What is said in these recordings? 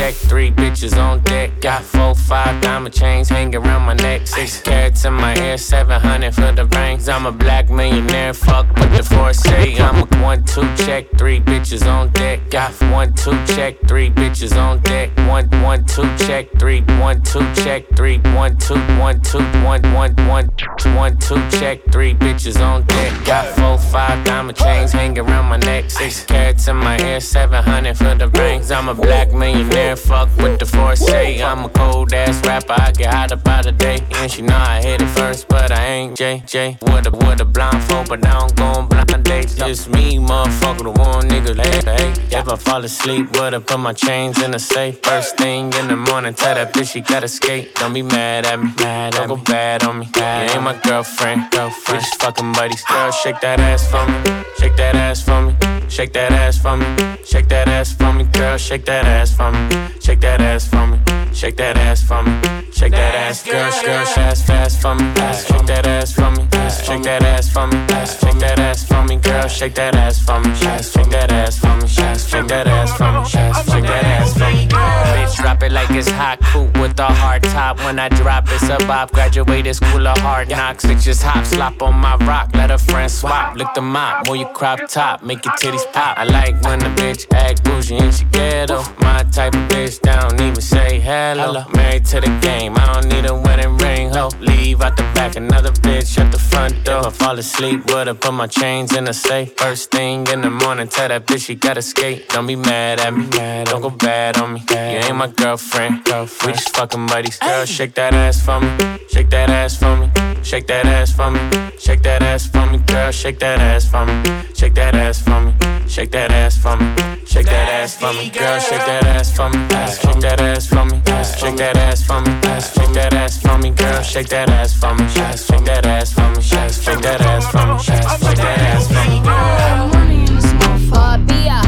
check, 3 bitches on deck. Got 4, 5 diamond chains hanging around my neck. 6 carats in my ear, 700 for the rings. I'm a black millionaire, fuck what the force say. I'm a 1, 2 check, 3 bitches on deck. Got 1, 2 check, 3 bitches on deck. 1, 1, 2 check, 3, 1, 2 check, 3, 1, 2, 1, 2, 1, 1, 1, 1, 2 check, 3 bitches on deck. Got 4, 5 diamond chains hanging around my neck. 6 carats in my ear, 700 for the rings. I'm a black millionaire, fuck what the force say. I'm a cold ass rapper, I get hot about a day. And she know I hit it first, but I ain't JJ. With a blindfold, but I don't go on blind dates. Just me, motherfucker, the one nigga like, hey. If I fall asleep, would've put my chains in the safe. First thing in the morning, tell that bitch she gotta skate. Don't be mad at me, don't go bad on me. You ain't my girlfriend, we just fucking buddies. Girl, shake that ass for me, shake that ass for me. Shake that ass for me, shake that ass for me, girl, shake that ass for me, shake that ass for me, shake that ass for me, shake that ass, girl, fast for me, shake that ass for me, shake that ass for me, shake that ass for me, girl, shake that ass for me, shake that ass for me, shake that ass for me, shake that ass for me. Bitch, drop it like it's hot, coupe with a hard top. When I drop, it's a bop. Graduated school of hard knocks. It just hop, slop on my rock. Let a friend swap, lick the mop, move your crop top, make your titties pop. I like when the bitch act bougie and she ghetto. My type of bitch that don't even say hello. Married to the game, I don't need a wedding ring, ho. Leave out the back, another bitch at the front door. If I fall asleep, would've put my chains in the safe. First thing in the morning, tell that bitch she gotta skate. Don't be mad at me, don't go bad on me. You ain't my girlfriend, we just fucking buddies. Girl, shake that ass for me, shake that ass for me, shake that ass for me, shake that ass for me, girl, shake that ass for me, shake that ass for me, shake that ass for me, shake that ass for me, girl, shake that ass for me, shake that ass for me, shake that ass for me, shake that ass for me, girl, shake that ass for me, shake that ass for me, shake that ass for me, shake that ass for me. Money in this motherfucker.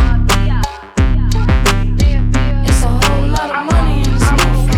It's a whole lot of money in this motherfucker.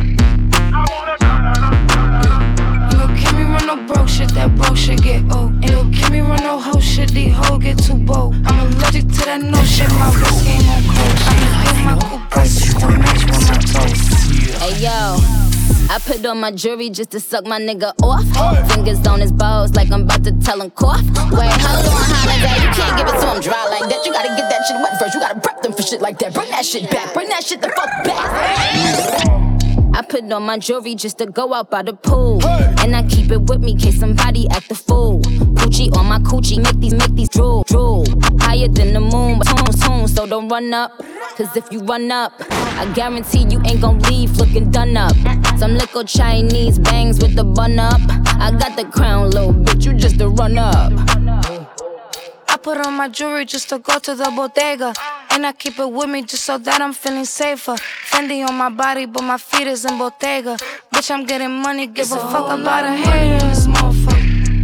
You gon' keep me run no broke shit, that broke shit get old. Ain't gon' keep me run no hoe shit, these hoes get too bold. I'm allergic to that no shit, my wrist game on cold. I'ma pay my coupe prices to match with my toes. Hey yo, I put on my jewelry just to suck my nigga off. Fingers on his balls like I'm about to tell him cough. Wait, how long, holiday? You can't give it to him dry like that. You gotta get that shit wet first. You gotta prep them for shit like that. Bring that shit back. Bring that shit the fuck back. I put on my jewelry just to go out by the pool. And I keep it with me in case somebody act a fool. Poochie on my coochie, make these drool. Higher than the moon, but soon, so don't run up. Cause if you run up, I guarantee you ain't gon' leave looking done up. Some little Chinese bangs with the bun up. I got the crown, little bitch, you just a run up. I put on my jewelry just to go to the bodega. And I keep it with me just so that I'm feeling safer. Fendi on my body, but my feet is in Bottega. Bitch, I'm getting money, give a fuck about a hater in this motherfucker.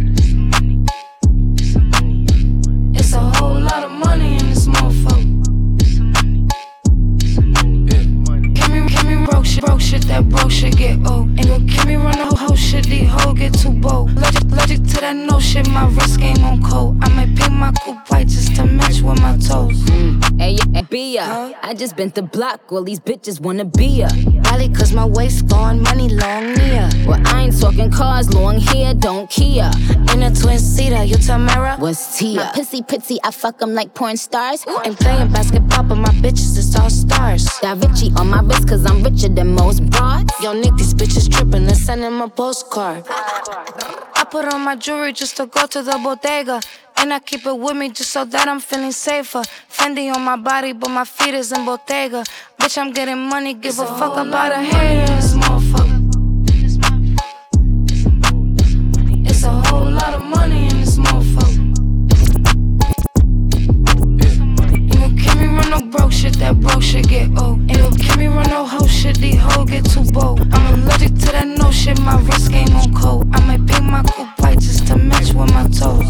It's a whole lot of money in this motherfucker. Can me broke shit, that broke shit get old. Ain't gon' keep me run no hoe shit, these hoes get too bold. Allergic to that no shit, my wrist game on cold. I might paint my coupe white just to match with my toes. Hey, be ya. I just bent the block, all these bitches wanna be ya. Probably cause my waist gone, money long near. Well, I ain't talking cars, long hair, don't Kia. In a twin seater, you Tamara? What's Tia? My pussy pretty, I fuck 'em like porn stars. Ain't playing basketball, but my bitches is all stars. Got Richie on my wrist cause I'm richer than most broads. Yo, Nick, these bitches trippin', let's send him a postcard. I put on my jewelry just to go to the bodega. And I keep it with me just so that I'm feeling safer. Fendi on my body, but my feet is in Bottega. Bitch, I'm getting money, give a fuck about a hater in this motherfucker. It's a whole lot of money in this motherfucker. Ain't gon' keep me run no broke shit, that broke shit get old. Ain't gon' keep me run no hoe shit, these hoes get too bold. I'm allergic to that no shit, my wrist game on cold. I might paint my coupe white just to match with my toes.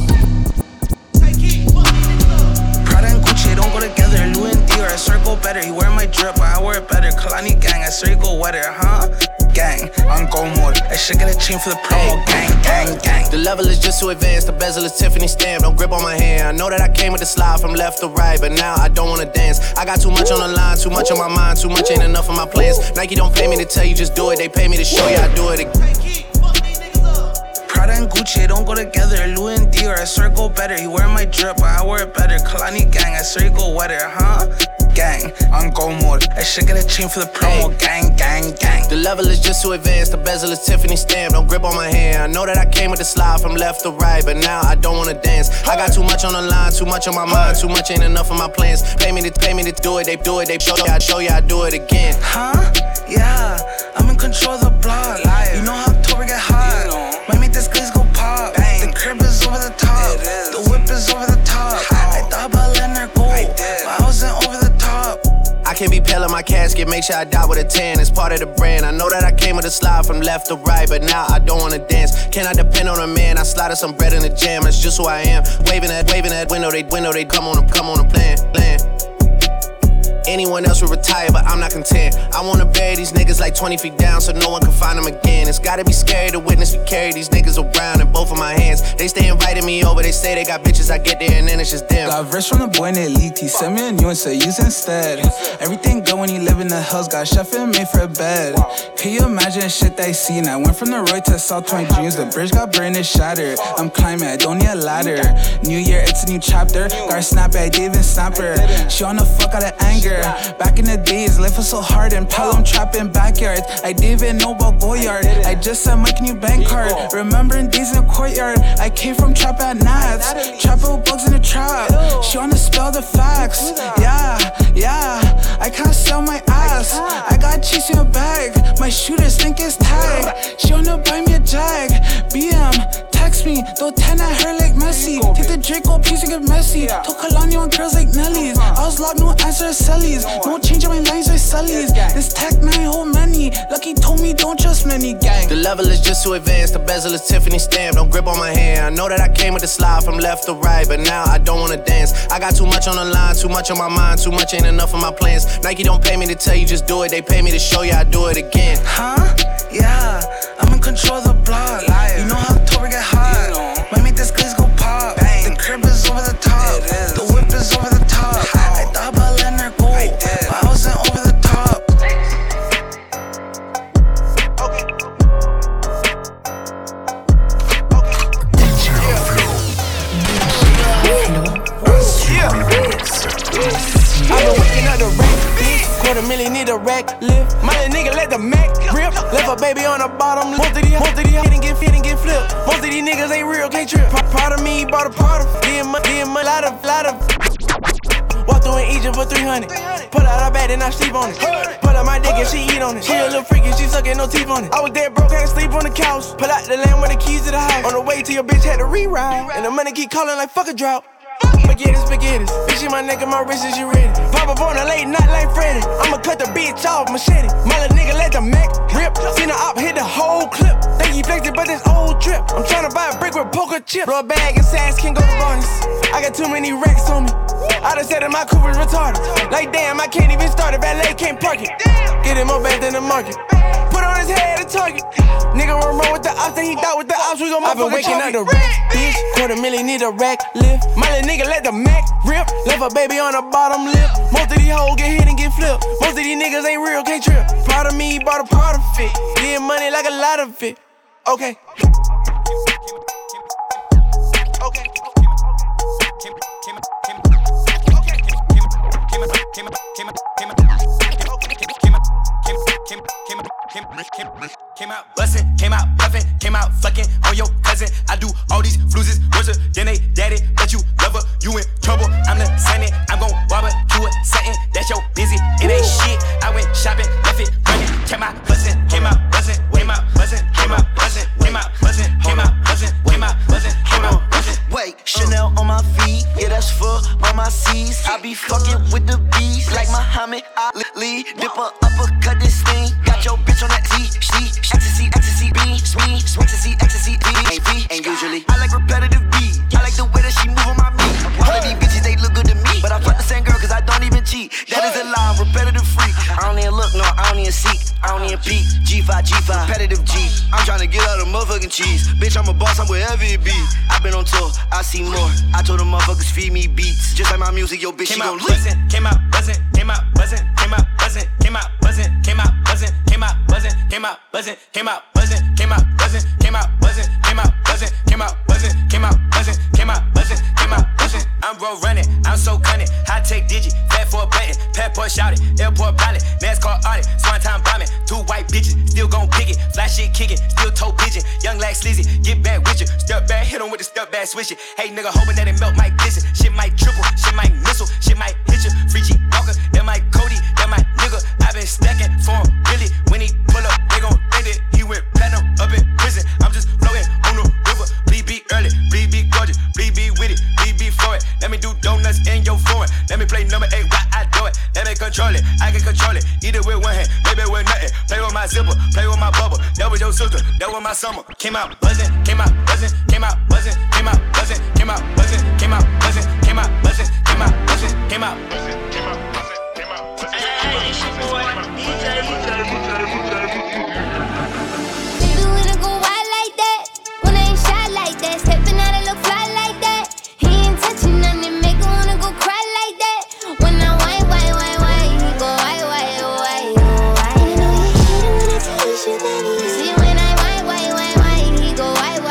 Prada and Gucci don't go together. Louis and Dior, I swear go better. He wear my drip, but I wear it better. Kalani gang, I swear you go wetter, huh? Gang, on go mode. I should get a chain for the promo. Gang. The level is just too advanced. The bezel is Tiffany stamp. Don't grip on my hand. I know that I came with the slide from left to right, but now I don't wanna dance. I got too much on the line, too much on my mind, too much ain't enough of my plans. Nike don't pay me to tell you just do it. They pay me to show you I do it again. Prada and Gucci, don't go together. Louis and Dior, I swear go better. He wear my drip, but I wear it better. Kalani gang, I swear you go wetter, huh? Gang, on go mode. I should get a chain for the promo. Gang. The level is just too advanced. The bezel is Tiffany stamp. Don't grip on my hand. I know that I came with the slide from left to right, but now I don't wanna dance. I got too much on the line, too much on my mind, too much ain't enough of my plans. Pay me to do it. They do it. They show you I do it again. Huh? Yeah, I'm in control of the block. You know how October get hot. Might make this glaze go pop. The crib is over the top. The whip is over the top. I thought about letting her go, but I wasn't over the top. I can't be pale in my casket, make sure I die with a tan. It's part of the brand. I know that I came with a slide from left to right, but now I don't wanna dance. Can I depend on a man? I slided some bread in the jam. That's just who I am. Waving that window. They come on a plan. Anyone else would retire, but I'm not content. I wanna bury these niggas like 20 feet down so no one can find them again. It's gotta be scary to witness me carry these niggas around in both of my hands. They stay inviting me over, they say they got bitches, I get there and then it's just them. Got rich from the boy named Elite, he sent me a new and said use instead. Everything good when you live in the hills, got chef and made for a bed. Can you imagine shit that I seen? I went from the road to South 20 dreams, the bridge got burned and shattered. I'm climbing, I don't need a ladder. New year, it's a new chapter. Got her snap it, I didn't even snap her. She on the fuck out of anger. Back in the days, life was so hard and Pelham trapping backyards. I didn't even know about Goyard. I just said my new bank card. Remembering days in the courtyard. I came from trap at Nats. Trapping with bugs in the trap. She wanna spell the facts. Yeah. I can't sell my ass. I got cheese in a bag. My shooters think it's tag. She wanna buy me a jag. BM, text me. Throw 10 at her like Messi. Take the Draco piece and get messy. Told Kalani on girls like Nelly's. I was locked, no answer to Sellies. No change on my lines or Sully's. This tech 9 whole many. Lucky told me don't trust many, gang. The level is just too advanced. The bezel is Tiffany stamp. Don't grip on my hand. I know that I came with the slide from left to right, but now I don't wanna dance. I got too much on the line, too much on my mind, too much ain't enough of my plans. Nike don't pay me to tell you just do it. They pay me to show you I do it again. Huh? Yeah, I'm in control of the block. You know how October get hot. Might make this glaze go pop. The crib is over the top. The whip is over the top. I thought about letting her go, but I wasn't over the top. I've been waking up the rack, bitch. $250,000 need a rack lift. My little nigga let the Mac rip. Left a baby on the bottom. Most of these didn't get flipped. Most of these niggas ain't real, can't trip. Proud of me, bought a part of. Getting my lot of. Walk through in Egypt for 300. Pull out her bed and I sleep on it. Pull out my dick and she eat on it. She a little freaky, she sucking no teeth on it. I was dead broke, had to sleep on the couch. Pull out the land with the keys to the house. On the way to your bitch had to reroute. And the money keep calling like fuck a drought. Spaghetti. Bitch in my neck and my wrist is you ready. Pop up on a late night like Freddy. I'ma cut the bitch off, machete. My little nigga let the Mac rip. Seen the op hit the whole clip. Think he flexed it, but this old trip. I'm tryna buy a brick with poker chips. Blow a bag and sass can go to bonus. I got too many racks on me. I done said that my Cooper's retarded. Like damn, I can't even start it. Valet can't park it. Get him more back than the market. Put on his head a target. Nigga run with the ops, then he thought with the ops. We gon' motherfucker. I've been waking up the rack, bitch. $250,000 need a rack lift. My little nigga let the Mac rip. Left a baby on the bottom lip. Most of these hoes get hit and get flipped. Most of these niggas ain't real, can't trip. Proud of me, bought a part of it. Getting money like a lot of it. Okay. Came out bustin', came out puffin', came out fucking on your cousin. I do all these fluses, worse than they daddy, but you love her, you in trouble. I'm the Sunny, I'm gon' barbecue it, something that's your busy. It ain't shit. I went shopping, left it running. Came out bustin', came out bustin', came out bustin', came out bustin', came out bustin', came out bustin', came out bustin', came out bustin'. Wait, Chanel on my feet, yeah that's for all my C's. I be fucking with the bees like Muhammad Ali. Dip her uppercut this thing, got your bitch on that T. Ecstasy, B, and usually I like repetitive beats. I like the way that she move on my meat. All of these bitches, they look good to me, but I fuck the same girl cause I don't even cheat. That is a lie, I'm repetitive freak. I don't even look, no, I don't even seek, I don't even peek. G5, Competitive G, I'm tryna get out of motherfucking cheese. Bitch, I'm a boss, I'm wherever it be. I been on tour, I see more. I told them motherfuckers feed me beats. Just like my music, yo bitch, she gon' leak. Came out buzzing, came out buzzing, came out buzzing, came out buzzing, came out buzzing, came out buzzing, came out buzzing, came out buzzing, came out buzzing, came out buzzing, came out buzzing, came out buzzing, came out buzzing, came out buzzing, came out buzzing. I'm road running, I'm so cunning. High tech digit, fat for a button, passport shouted, airport pilot, NASCAR audit, swan time bombing. 2 white bitches, still gon' pick it, fly shit kicking, still toe pigeon. Young like sleazy, get back with you. Step back, hit him with the step back switch it. Hey nigga, hoping that it melt might glisten. Shit might triple, shit might missile, shit might hit you. Free G Walker, that my Cody, that my nigga. I been stacking for him, really. When he pull up, they gon' think that he went platinum up in prison. I'm just floating on the river. Bleed be early, bleed be gorgeous, bleed be with it, bleed be for it. Let me do donuts in your foreign. Let me play number 8 while I do it. Let me control it, I can control it. Eat it with one hand, maybe with nothing. Play with my zipper, play with my bubble. That was your sister, that was my summer. Came out buzzing, came out buzzing, came out buzzing, came out buzzing, came out buzzing, came out buzzing, came out buzzing, came out buzzing, came out buzzing, came out buzzing, came out buzzing. Hey, it's your boy, DJ. Baby, when I go wild like that, when I ain't shy like that, stepping out and look fly like that. He ain't touching nothing, make her wanna go cry like that. When I whine, he go whine. You know you hate it when I tease you that easy. See when I whine, he go whine.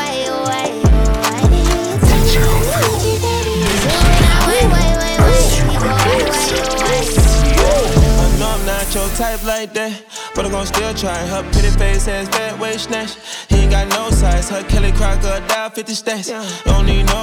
Tell me I need you that easy. See when I whine, he go whine. I know I'm not your type like that, but I'm gon' still try. Her pretty face has bad waist snatch. He ain't got no size. Her Kelly crocodile 50 stacks. Don't need no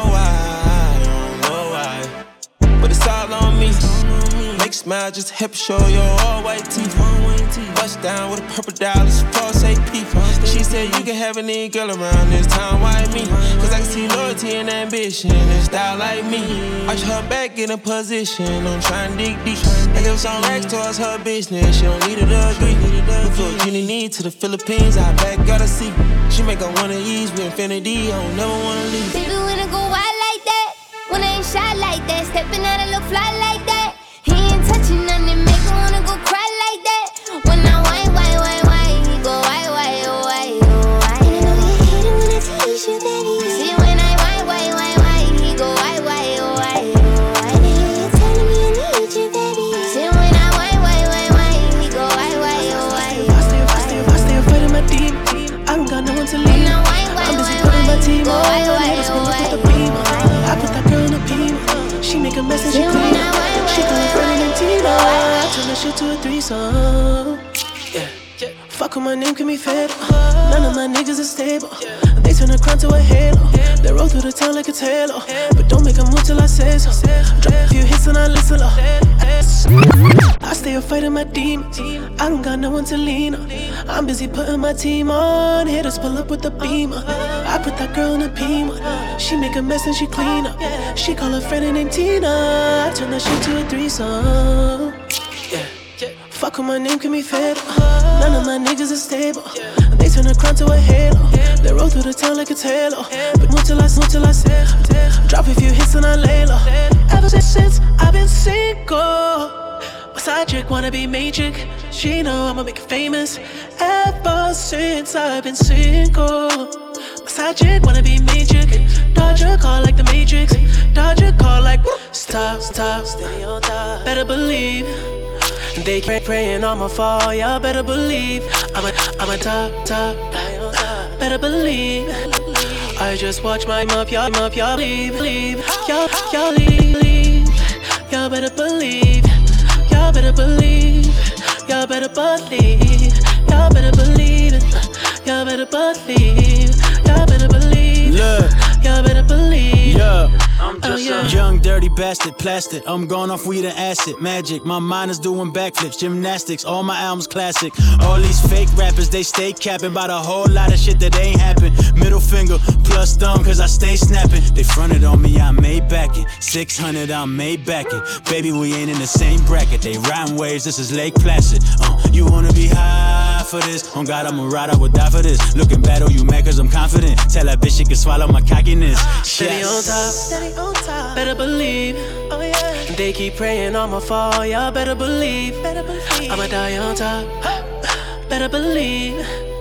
why. But it's all on me. Make smile, just hip show your all white teeth. Bust down with a purple dollars, false AP. She said you can have any girl around this time, why me? Cause I can see loyalty and ambition and style like me. Watch her back in a position, I'm trying to dig deep. I give some racks towards her business, she don't need it to agree. We flew Genie need to the Philippines, I back gotta see. She make her wanna ease with infinity, I don't never wanna leave. Baby, when I go wild like that, when I ain't shy like that, stepping out and look fly like that. He ain't touching nothing, make her wanna go cry like that. When I whine, he go whine. You know you hate it when I tease you that easy. See when I whine, he go whine. You telling me I need you that easy. See when I whine, he go whine. I stay afraid of my demon. I don't got no one to lean. I'm busy putting my team on. Haters pull up with the beam. I put that girl in a beam. She make a mess and she clean up. She call her friend and Tina. I turn that shit to a threesome. Yeah. Fuck with my name, can be fed. None of my niggas is stable. They turn a crown to a halo. They roll through the town like it's halo. But don't make a move till I say so. Drop a few hits and I listen low. I stay afraid of my demons. I don't got no one to lean on. I'm busy putting my team on. Haters pull up with the beamer. I put that girl in a beamer. She make a mess and she clean up. She call her friend named Tina. I turn that shit to a threesome. Yeah. Fuck with my name, can be fed. None of my niggas is stable. They turn a crown to a halo. They roll through the town like it's halo. But move till I say. Drop a few hits and I lay low. Ever since I've been single, my side chick wanna be main. She know I'ma make it famous. Ever since I've been single, my side chick wanna be main. Dodge a call like the Matrix. Dodge a call like stop, steady on top. Better believe. They praying on my fall, y'all better believe. I'm a top. Better believe. I just watch my up, y'all leave. Y'all leave. Y'all better believe. Y'all better believe. Y'all better believe. Y'all better believe it. Y'all better believe. Y'all better believe. Look. Y'all better believe. Yeah. I'm just a young, dirty bastard, plastic. I'm going off weed and acid, magic. My mind is doing backflips, gymnastics. All my albums classic. All these fake rappers, they stay capping about a whole lot of shit that ain't happen. Middle finger plus thumb, cause I stay snapping. They fronted on me, I made back it. 600, I made back it. Baby, we ain't in the same bracket. They riding waves, this is Lake Placid. You wanna be high for this? On God, I'ma ride, I would die for this. Looking bad, oh, you mad cause I'm confident. Tell that bitch she can swallow my cockiness. Steady on top, better believe. Oh yeah. They keep praying on my fall, y'all better believe. I'ma die on top. Better believe.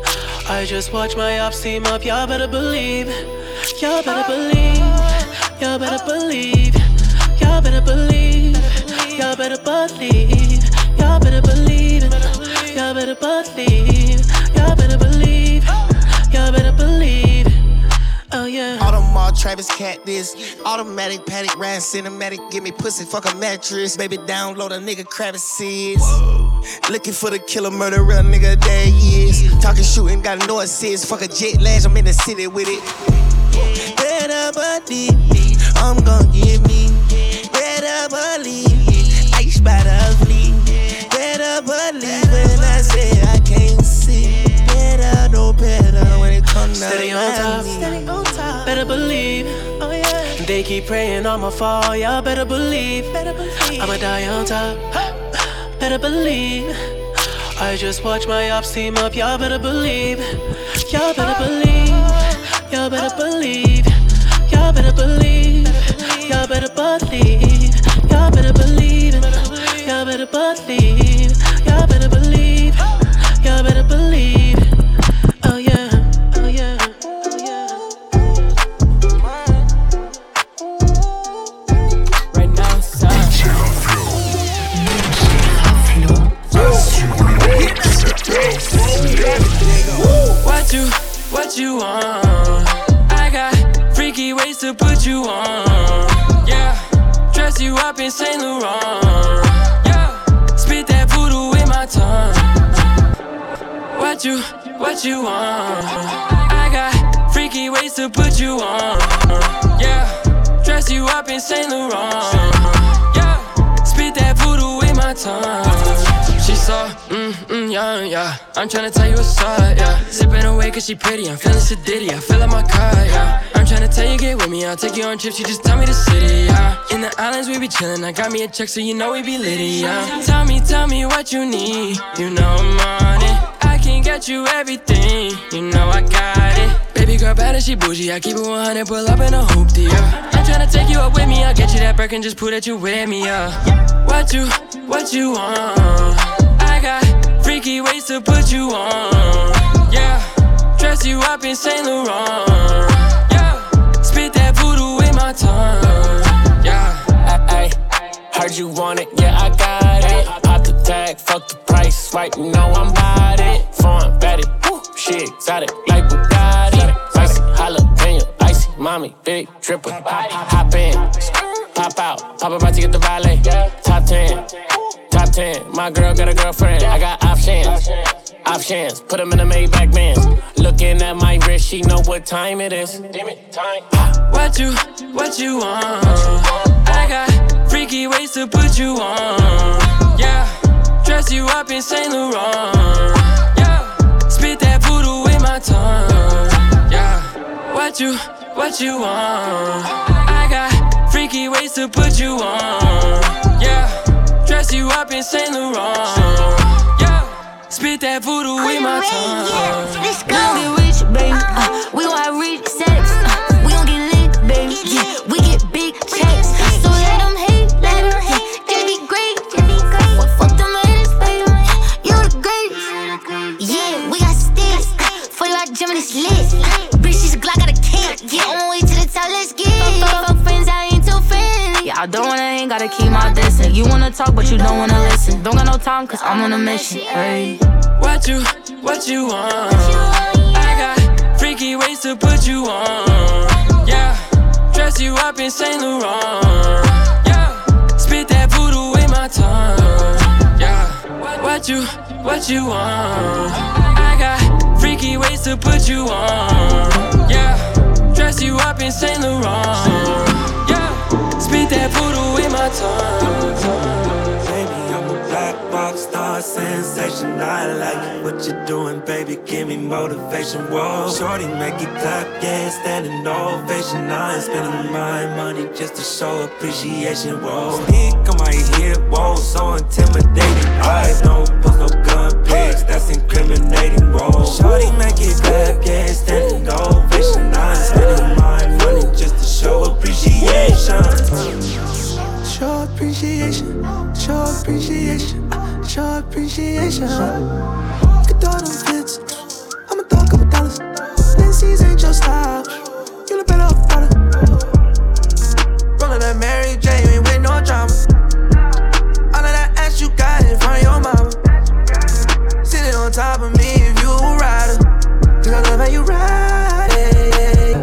I just watch my ops team up, y'all better believe. Y'all better believe. Y'all better believe. Y'all better believe. Y'all better believe. Y'all better believe. Y'all better believe. Y'all better believe. Y'all better believe. Oh yeah. Audemars, Travis, Cactus, automatic, paddock, ride, cinematic, give me pussy, fuck a mattress. Baby, download a nigga crevices. Looking for the killer, murderer, nigga, there he is. Talking, shooting, got no assist. Fuck a jet lash, I'm in the city with it. Better believe me, I'm gon' give me. Better believe, ice by the fleet. Better believe when I say I can't see. Better know better when it comes down to Steady on top, steady on top. Better believe, oh yeah. They keep praying I'ma fall, y'all better believe. I'ma die on top, better believe. I just watch my ops team up, y'all better believe. Y'all better believe. Y'all better believe. Y'all better believe. Y'all better believe. Y'all better believe. Y'all better believe. Y'all better believe. Y'all better believe. Oh yeah. Oh yeah. Oh yeah. Right now, son. What you want? I got freaky ways to put you on. Yeah, dress you up in Saint Laurent. Yeah, spit that voodoo in my tongue. What you want? I got freaky ways to put you on. Yeah, dress you up in Saint Laurent. Yeah, spit that voodoo in my tongue. She saw, yeah. I'm tryna tell you what's up, yeah. Sipping away cause she pretty, I'm feeling sedity, I fill up my car, yeah. I'm tryna tell you get with me, I'll take you on trips, you just tell me the city, yeah. In the islands we be chillin', I got me a check so you know we be litty, yeah. Tell me what you need, you know I'm on it. I can get you everything, you know I got it. Baby girl bad and she bougie, I keep it 100, pull up in a hoopty, yeah. I'm tryna take you up with me, I'll get you that Birkin, just prove that you with me, yeah. What you want? I got freaky ways to put you on. Yeah, dress you up in Saint Laurent. Yeah, spit that voodoo in my tongue. Yeah, I heard you want it, yeah I got it. Pop the tag, fuck the price, swipe, you know I'm bout it. Foreign batty, woo, shit exotic like Bugatti. Icy jalapeno, icy mommy, big dripper. Hop in, pop out, pop about to get the valet. Top 10. Top 10, my girl got a girlfriend. I got options, put them in the Maybach Benz. Looking at my wrist, she know what time it is. Damn it, time. What you want? I got freaky ways to put you on. Yeah, dress you up in Saint Laurent. Yeah, spit that voodoo in my tongue. Yeah, what you want? I got freaky ways to put you on. Yeah. Dress you up in Saint Laurent. Yeah, spit that voodoo in my tongue. Let's go. We gon' get rich, baby. We gon' have rich sex. We gon' get lit, baby. Yeah, we get big checks. So let them hate, They be great. Fuck them haters, baby. You the greatest. Yeah, we got sticks. For you, I gym and it's lit. Bitch, she's a Glock, got a kick. Yeah, on my way to the top, let's get it. Fuck friends, I ain't too friendly. Yeah, I don't wanna hang, gotta keep my distance. You wanna talk, but you don't wanna listen. Don't got no time, cause I'm on a mission. Hey. What you want? I got freaky ways to put you on. Yeah, dress you up in Saint Laurent. Yeah, spit that voodoo in my tongue. Yeah, what you want? I got freaky ways to put you on. Yeah, dress you up in Saint Laurent. Yeah, spit that voodoo in my tongue. Baby, I'm a black box star sensation. I like what you're doing, baby. Give me motivation. Whoa, shorty, make it clap, yeah, standing ovation. I ain't spending my money just to show appreciation. Whoa, stick on my hip, whoa, so intimidating. I don't post no gun pics, that's incriminating. Whoa, shorty, make it clap, yeah, standing ovation. I ain't spending my money just to show appreciation. Show appreciation, show appreciation, show appreciation. Look at all them fits, I'ma talk about stop. You look better off water. Rollin' that Mary Jane, ain't with no drama. All of that ass you got in front of your mama. Sitting on top of me if you a rider. Cause I love how you ride it.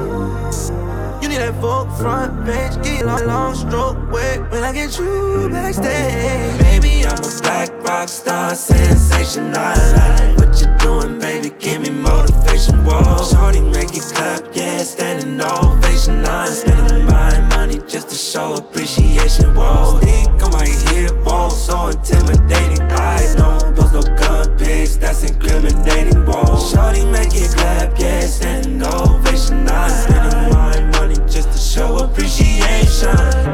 You need that Vogue front bench, get long stroke wet when I get you backstage. Baby, I'm a black rock star, sensation. I like what you're doing, baby. Give me motivation. Whoa, shorty, make it clap, yeah, standing ovation. I'm spending my money just to show appreciation. Whoa, think I might hit, whoa, so intimidating. I don't post no gun pics, that's incriminating. Whoa, shorty, make it clap, yeah, standing ovation. I'm spending my money just to show appreciation.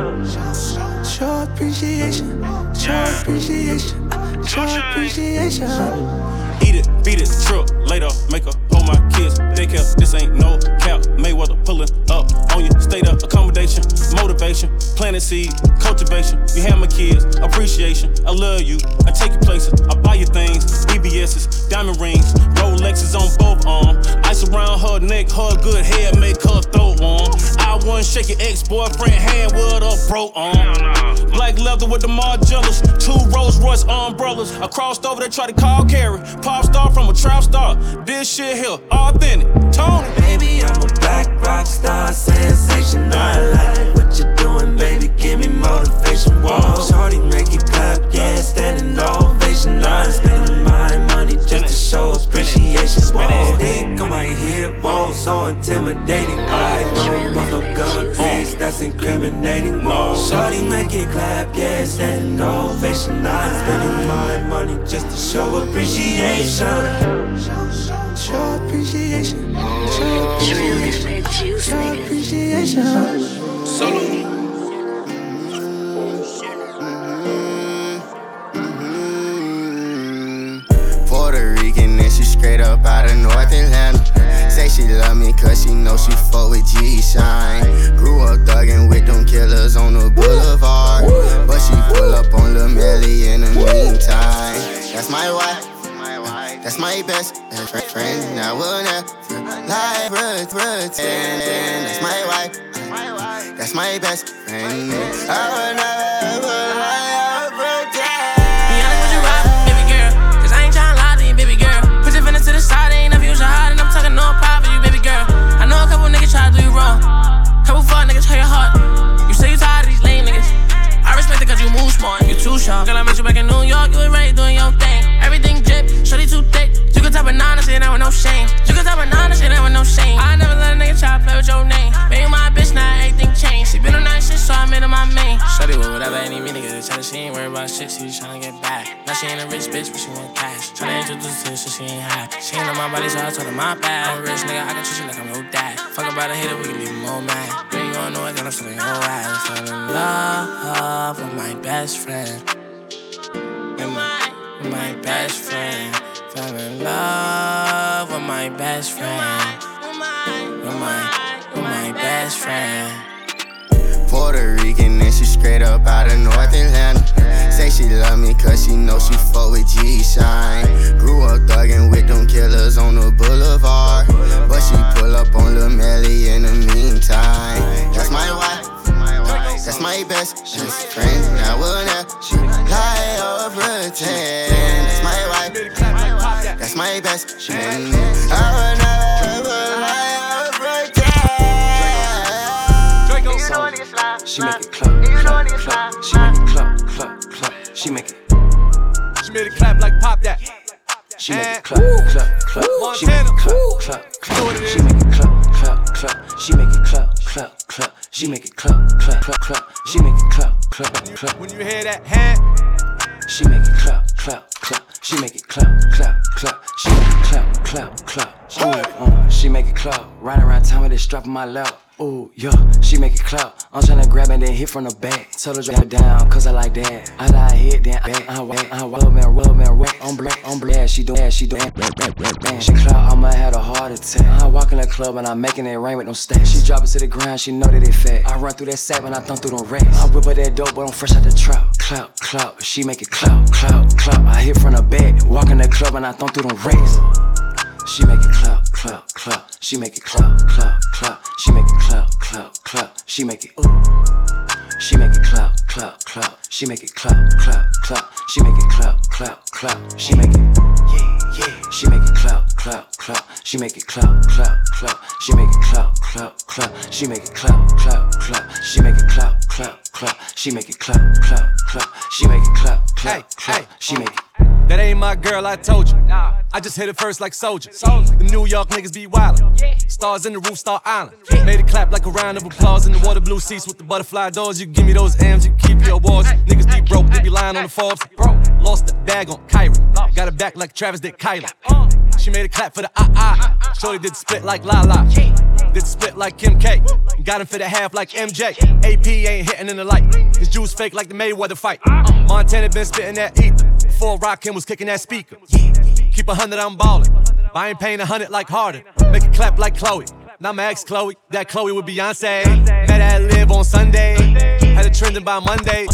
Show appreciation, show appreciation, show appreciation. Eat it, beat it, truck, later, make her hold my kids. Daycare, this ain't no cap. Mayweather pulling up on you. State of accommodation, motivation, planting seed, cultivation. You have my kids, appreciation. I love you, I take you places, I buy you things. BBS's, diamond rings, Rolexes on both arms. Ice around her neck, her good hair make her throat warm. I wouldn't shake your ex-boyfriend hand with a broke arm. Black leather with the Margielas, 2 Rolls Royce umbrellas. I crossed over, they tried to call Carrie. Pop star from a trap star. This shit here, authentic. Tony. Baby, I'm a black rock star, sensation. I like what you're doing, baby. Give me motivation. Whoa, shorty, make it clap, yeah, standing ovation. I'm spending my money just to show appreciation. Whoa, think I might hit, whoa, so intimidating. I don't want no gun face, that's incriminating. Whoa, shorty, make it clap, yeah, standing ovation. I'm spending my money just to show appreciation. Show appreciation, show appreciation, show appreciation. Solo. Puerto Rican and she straight up out of North Atlanta. Say she love me cause she know she fuck with G-Shine. Grew up thuggin' with them killers on the boulevard, but she pull up on Lil Melly in the meantime. That's my wife, that's my best friend. I will never lie, pretend. That's my wife, that's my best friend. I will never lie, pretend. Be honest with you, right, baby girl, cause I ain't tryna lie to you, baby girl. Put your feelings to the side, ain't never use your heart, and I'm talking no pride for you, baby girl. I know a couple niggas try to do you wrong, couple fuck niggas hurt your heart. You say you tired of these lame niggas, I respect it cause you move smart, you too sharp. Girl, I met you back in New York, you was ready doing your thing. Everything drip, shorty too thick. You can type banana shit out with no shame. You can type banana shit out with no shame. I never let a nigga try to play with your name. Baby, my bitch, now everything changed. She been on that shit, so I made her my main. Shorty with whatever any me niggas tell her she ain't worried about shit, she just tryna get back. Now she ain't a rich bitch, but she want cash. Tryna introduce to her, so she ain't high. She ain't on my body, so I told her my bad. I'm a rich nigga, I can treat you like I'm your dad. Fuck about a hater, we can leave him all mad. You ain't gon' know it, then I'm still in your ass. Fell in love with my best friend. With my best friend. Fell in love with my best friend. With my best friend. Puerto Rican and she straight up out of North Atlanta. Say she love me cause she know she fuck with G-Shine. Grew up thuggin' with them killers on the boulevard, but she pull up on Lil Melly in the meantime. That's my wife, that's my best friend. I will never lie or pretend. That's my wife, that's my best friend. I will never lie or pretend. She make it clap, clap, clap. She make it clap, clap, clap. She make it. She made it clap like pop that. She make it clap, clap, clap. She make it clap, clap, clap. She make it clap, clap, clap. She make it clap, clap, clap. She make it clap, clap, clap, clap. She make it clap, clap, clap. When you hear that hand, she make it clap, clap, clap. She make it clap, clap, clap. She make it clap, clap, clap. She make it clap. Riding around town with this strap on my lap. Ooh, yeah, she make it clap. I'm tryna grab and then hit from the back. Tell her drop it down, cause I like that. I lie hit, then back. I I'm black, yeah, she do, she clap, I'ma have a heart attack. I walk in the club and I'm making it rain with no stacks. She drop it to the ground, she know that it fat. I run through that sack when I thumb through them racks. I whip her that dope, but I'm fresh out the trap. Clap, clap, she make it clap, clap, clap. I hit from the back, walk in the club and I thumb through them racks. She make it clap, clap. clap, clap. She make it clap, clap, clap. She make it clap, clap, clap. She make it She make it clap, clap, clap. She make it clap, clap, clap. She make it clap, clap, clap. She make it She make it clap, clap, clap. She make it clap, clap, clap. She make it clap, clap, clap. She make it clap, clap, clap. She make it clap, clap, clap. She make it clap, clap, clap. She make it clap, clap, clap. She make it. That ain't my girl, I told you. I just hit it first like Soldier. Them New York niggas be wildin'. Stars in the roof, Star Island. Made it clap like a round of applause in the water blue seats with the butterfly doors. You give me those M's, you keep your awards. Niggas be broke, they be lying on the Forbes. Lost the bag on Kyrie. Got it back like Travis did Kylie. She made it clap for the Shorty did the split like Lala. Did the split like Kim K. Got him for the half like MJ. AP ain't hitting in the light. His juice fake like the Mayweather fight. Montana been spitting that ether. Before Rakim was kicking that speaker. Keep 100, I'm ballin'. I ain't paying 100 like Harden. Make it clap like Chloe. Now my ex Chloe. That Chloe with Beyonce. Met at Live on Sunday. Had it trending by Monday.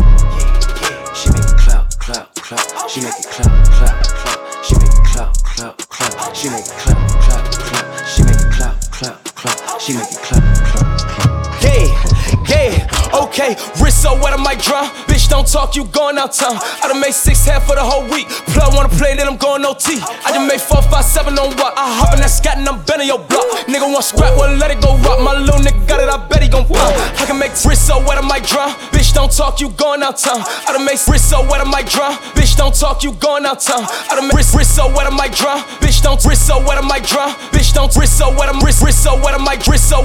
She make it clap, clap, clap. She make it clap, clap, clap. She make it clap, clap, clap. She make it clap, clap, clap. She make it clap, clap, clap. She make it clap, clap, clap. Yeah, okay, wrist so wet I might drown. Bitch, don't talk, you going out town. I done made 6 half for the whole week. Plug wanna play, then I'm going OT. I just made 4, 5, 7 on what? I hop in that scat and I'm bending your block. Nigga want scrap, well let it go rock. My little nigga got it, I bet he gon' pop. I can make wrist so wet I might drown. Bitch, don't talk, you going out town. I done made wrist so wet I might drown. Bitch, don't talk, you going out town. I done made wrist so wet I might drown. Bitch, don't wrist so wet I might drown. Bitch, don't wrist so wet I'm wrist so wet I might wrist so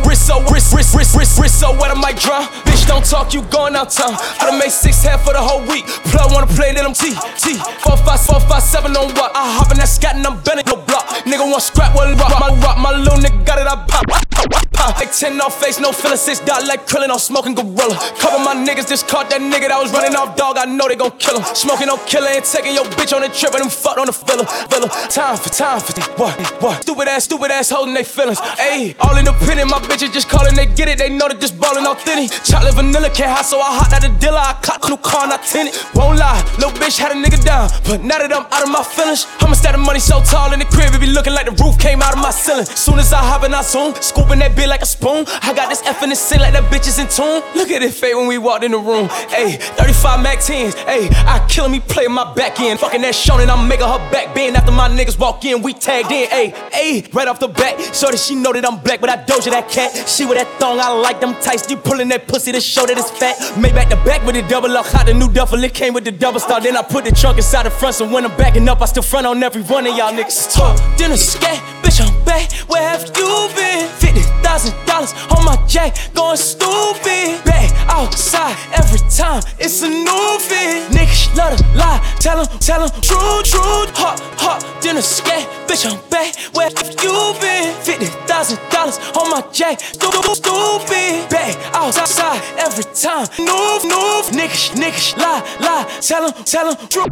wet I might drown. Bitch, don't talk, you going out town. I done made 6 half for the whole week. Plug wanna play, then I'm T. 4, 5, 7 on what? I hop in that scat and I'm bending your block. Nigga want scrap, well rock. My little nigga got it, I pop. Like 10 off face, no feeling 6 dot like Krillin, I'm smoking gorilla. Cover my niggas, just caught that nigga that was running off dog. I know they gon' kill him. Smoking no killer and taking your bitch on the trip and them fucked on the villa. Time for what? Stupid ass holding they feelings. Ayy, all independent, my bitches just calling, they get it. They know that this ballin' authentic. Chocolate vanilla can't hide, so I hot out the dealer. I caught new car, not tinted. Won't lie, little bitch had a nigga down, but now that I'm out of my feelings, I'ma stack the money so tall in the crib, it be looking like the roof came out of my ceiling. Soon as I hop in, I zoom, scooping that bitch like a spoon. I got this F in the sink like that bitch is in tune. Look at it fade when we walked in the room. Ayy, 35 Mac 10s. Ayy, I kill him, he play my back end. Fucking that Shonen, I'm making her back bend. After my niggas walk in, we tagged in. Ayy, right off the bat, so that she know that I'm black, but I doja that cat. She with that thong, I like them tights. You pulling that pussy to show that it's fat. Made back to back with the double up, hot the new duffel. It came with the double star. Then I put the trunk inside the front, so when I'm backing up, I still front on every one of y'all niggas. Talk, dinner, scat, bitch, I'm back. Where have you been? $50,000 on my jack, going stupid. Back outside every time, it's a new fit. Niggas love to lie, tell them, true. Hot, dinner, scat, bitch, I'm back. Where have you been? $50,000 on my jack, stupid. Back outside every time, new. Niggas lie, tell them, true.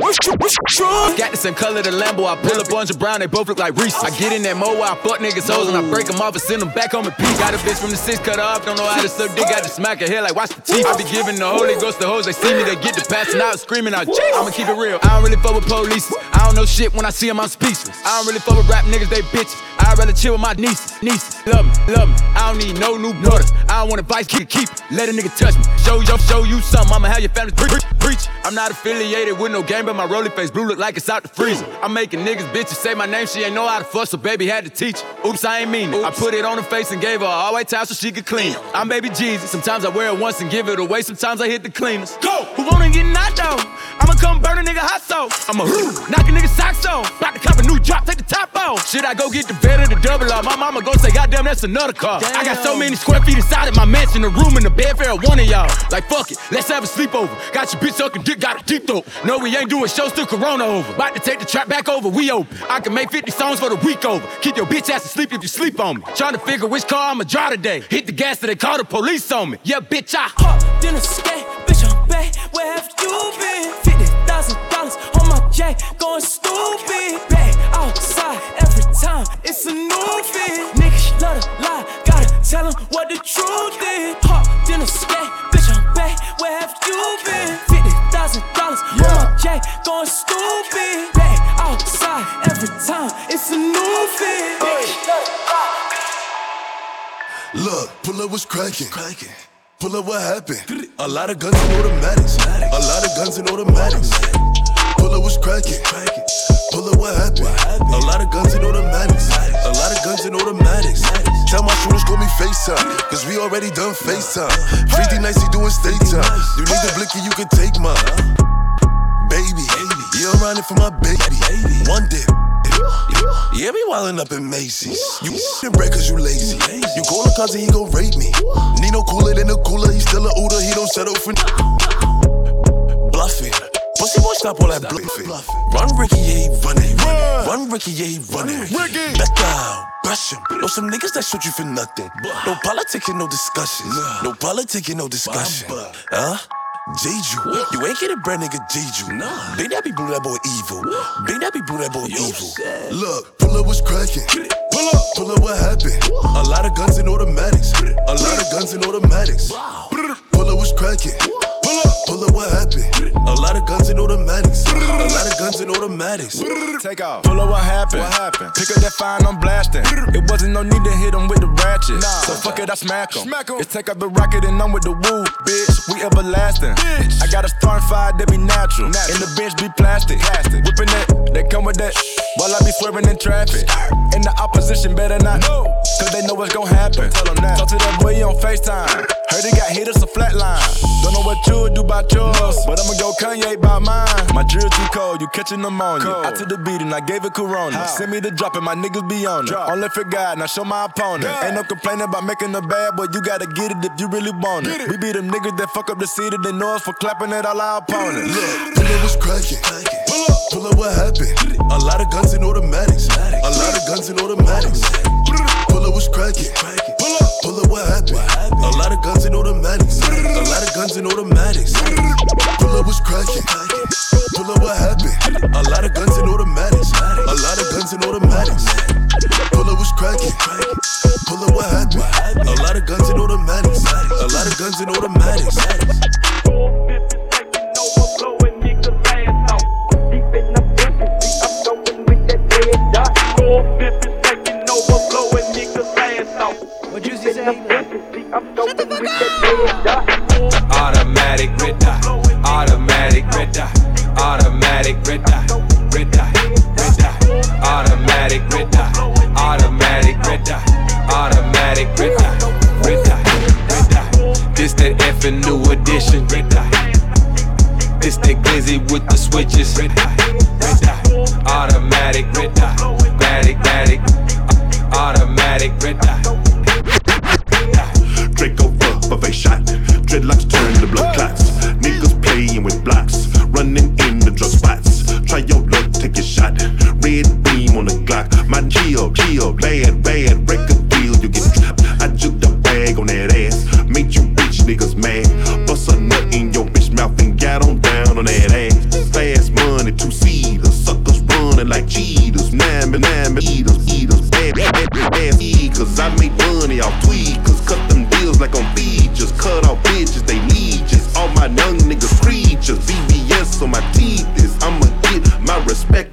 Got the same color the Lambo, I pull up orange and brown, they both look like Reese. I get in that mo, I fuck niggas hoes and I break them off and send them back on repeat. Got a bitch from the 6 cut her off, don't know how to suck dick, got to smack her hair like watch the teeth. I be giving the Holy Ghost to hoes, they see me, they get the passing out, screaming out, I'ma keep it real. I don't really fuck with police, I don't know shit when I see them, I'm speechless. I don't really fuck with rap niggas, they bitches. I'd rather chill with my nieces. Love me, I don't need no new daughters. I don't want advice, keep it, let a nigga touch me. Show you something, I'ma have your family preach. I'm not affiliated with no game, but my rolling face blue look like it's out the freezer. I'm making niggas bitches say my name, she ain't know how to fuss, so baby had to teach her. Oops, I ain't mean it. I put it on her face and gave her an all-white towel so she could clean it. I'm baby Jesus, sometimes I wear it once and give it away, sometimes I hit the cleaners. Go! Who wanna get knocked out? I'ma come burn a nigga hot sauce. I'ma knock a nigga socks off. About to cop a new drop, take the top off. Should I go get the bed or the double R? My mama gon' say, goddamn, that's another car. Damn. I got so many square feet inside of my mansion, a room and a bed for one of y'all. Like, fuck it, let's have a sleepover. Got your bitch sucking dick, got a deep throat. No, we ain't doing shows till Corona over. About to take the trap back over, we open. I can make 50 songs for the week over. Keep your bitch ass asleep if you sleep on me. Trying to figure which car I'ma drive today. Hit the gas so they call the police on me. Yeah, bitch, I hopped in a skate, bitch, I'm back. Where have you been? $50,000 on my jack, going stupid. Back outside every time, it's a new fit. Niggas love to lie, gotta tell them what the truth is. Hopped in a skate, bitch, I'm back. Where have you been? $50,000 on my jack, going stupid. Back outside every time, it's a new fit. Niggas love to lie. Look, pull up what's cracking. Pull up what happened. A lot of guns and automatics. A lot of guns and automatics. Pull up what's cracking. Pull up what happened. A lot of guns and automatics. A lot of guns and automatics. Tell my shooters call me FaceTime, cause we already done FaceTime. 50 nights he doing state time. You need the blicky, you can take mine. Baby, yeah, I'm riding for my baby. One dip. Yeah, be wildin' up in Macy's. You in bread cause you lazy. You call a cousin, he gon' rape me. Nino cooler than a cooler, he still a Uda, he don't settle for bluffing. Pussy boy, stop all that bluffing. Run Ricky, yeah, he running. Run Ricky, yeah, he running. Back down, brush him. Know some niggas that shoot you for nothing. No politics and no discussions. No politics and no discussion. Huh? Jeju, you ain't get a bread, nigga. Jeju, Big Daddy blew that boy evil. Big Daddy blew that boy evil. Look, pull up what's cracking. Pull up what happened. A lot of guns and automatics. A lot of guns and automatics. Pull up what's cracking. Pull up what happened. A lot of guns and automatics. A lot of guns and automatics. Take off. Pull up what happened. Pick up that fine, I'm blasting. It wasn't no need to hit him with the ratchet. So fuck it, I smack him. It's take up the rocket and I'm with the woo, bitch. We everlasting. I got a starting fire that be natural. And the bench be plastic. Whipping that, they come with that. While I be swerving in traffic. And the opposition better not know, cause they know what's gon' happen. Tell them that. Talk to that boy on FaceTime. Heard he got hit, it's a flat line. Don't know what you would do about yours, but I'ma go Kanye by mine. My drill too cold, you catching pneumonia. I took the beat and I gave it Corona. Send me the drop and my niggas be on it. Only for God, now show my opponent. Ain't no complaining about making a bad, but you gotta get it if you really want it. We be them niggas that fuck up the city, they know us for clapping at all our opponents. Look, pull up what's cracking. Pull up what happened. A lot of guns and automatics. A lot of guns and automatics. Pull up what's cracking. Pull up what happened. A lot of guns and automatics. A lot of guns and automatics. Pull up what's cracking. Pull up what happened. A lot of guns and automatics. A lot of guns and automatics. Pull up what's cracking. Pull up what happened. A lot of guns and automatics. A lot of guns and automatics. What you say? Automatic red dot, automatic red dot, automatic red dot, red dot, red dot, automatic red dot, automatic red dot, automatic red dot, red dot, red dot. This that effing new edition, red dot. This that glizzy with the switches, red dot, red dot, automatic red dot, automatic, automatic red dot. Draco for face shot. Dreadlocks turn to blood clots. Niggas playing with blocks, running in the drug spots. Try your luck, take your shot. Red beam on the Glock. My chill, bad, break a deal, you get trapped. I juked the bag on that ass, made you bitch niggas mad. Bust a nut in your bitch mouth and got on down on that ass. Fast money, 2-seaters, suckers running like cheaters. Nine eaters, bad cause I make money off tweakers. Cut them deals like on beaches, cut off bitches, they leeches. All my young niggas creatures, VVS on my teeth is I'ma get my respect.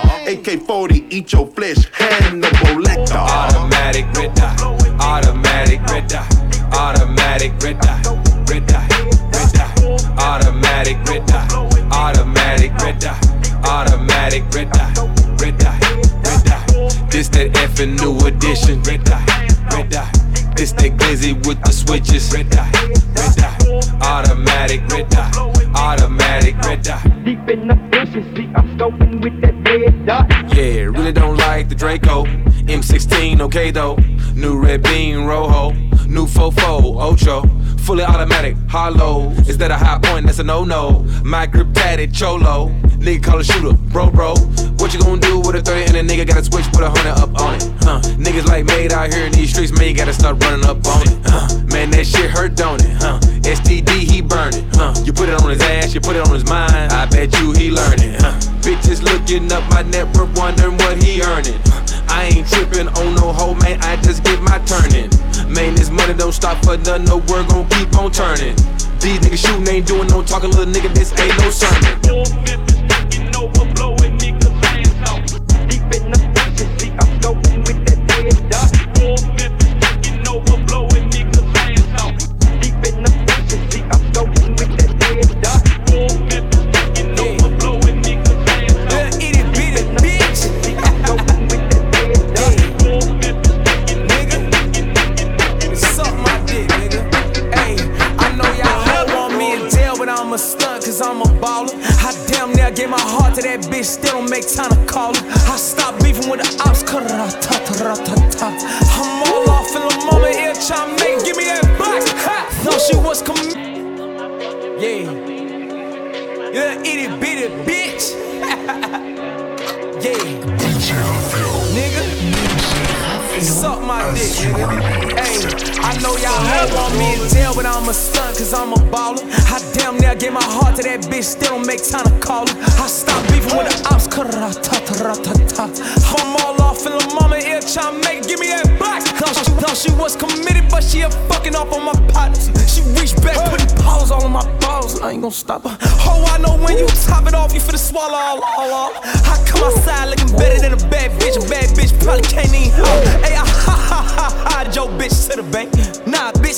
AK-40, eat your flesh, Hannibal Lecter. Automatic red dot, automatic red dot, automatic red dot, red dot, red dot, automatic red dot, automatic red dot, automatic red dot, red dot, red dot. This that effing new edition, red dot, red dot. This that glizzy with the switches, red dot, red dot, automatic red dot, automatic red dot. Deep in the efficiency, I'm scoping with that red dot. Yeah, really don't like the Draco. M16, okay though. New red beam, Rojo. New 4-4, Ocho. Fully automatic, hollow. Is that a high point? That's a no-no. My grip tatted, cholo. Nigga call a shooter, bro. What you gonna do with a 30 and a nigga gotta switch, put 100 up on it? Niggas like made out here in these streets, man, you gotta start running up on it. Man, that shit hurt, don't it? STD, he burning. You put it on his ass, you put it on his mind. I bet you he learning. Bitches looking up my net worth, wondering what he earning. I ain't tripping on no hoe, man, I just get my turning. Man, this money don't stop for nothing, no word gon' keep on turning. These niggas shooting, ain't doing no talking, little nigga, this ain't no sermon. Overblowing niggas ass out. Deep in the efficiency, I'm scoping with that red dot. Overblowing that bitch still don't make time to call her. I stopped beefing with the ops, cut it out, ta-ta-ra-ta-ta. I'm all off in the mama ear, tryna make it, give me that box. Ha! Thought she was yeah. You itty bitty bitch. Yeah. Nigga. Suck my dick, nigga. Hey, I know y'all all want me in jail, but I'm a stunt, cause I'm a baller. I damn near gave my heart to that bitch, still don't make time to call her. I stopped beefing with the ops, cut it out, ta-ta-ra-ta-ta. I'm all off in the mama ear, tryna make it, give me that box. Thought she was committed, but she a fucking off on my partners. She reached back, putting paws all on my balls, I ain't gon' stop her. Oh, I know when you top it off, you finna swallow all. I come outside looking better than a bad bitch. A bad bitch probably can't even hey, I hide your bitch to the bank. Nah, bitch,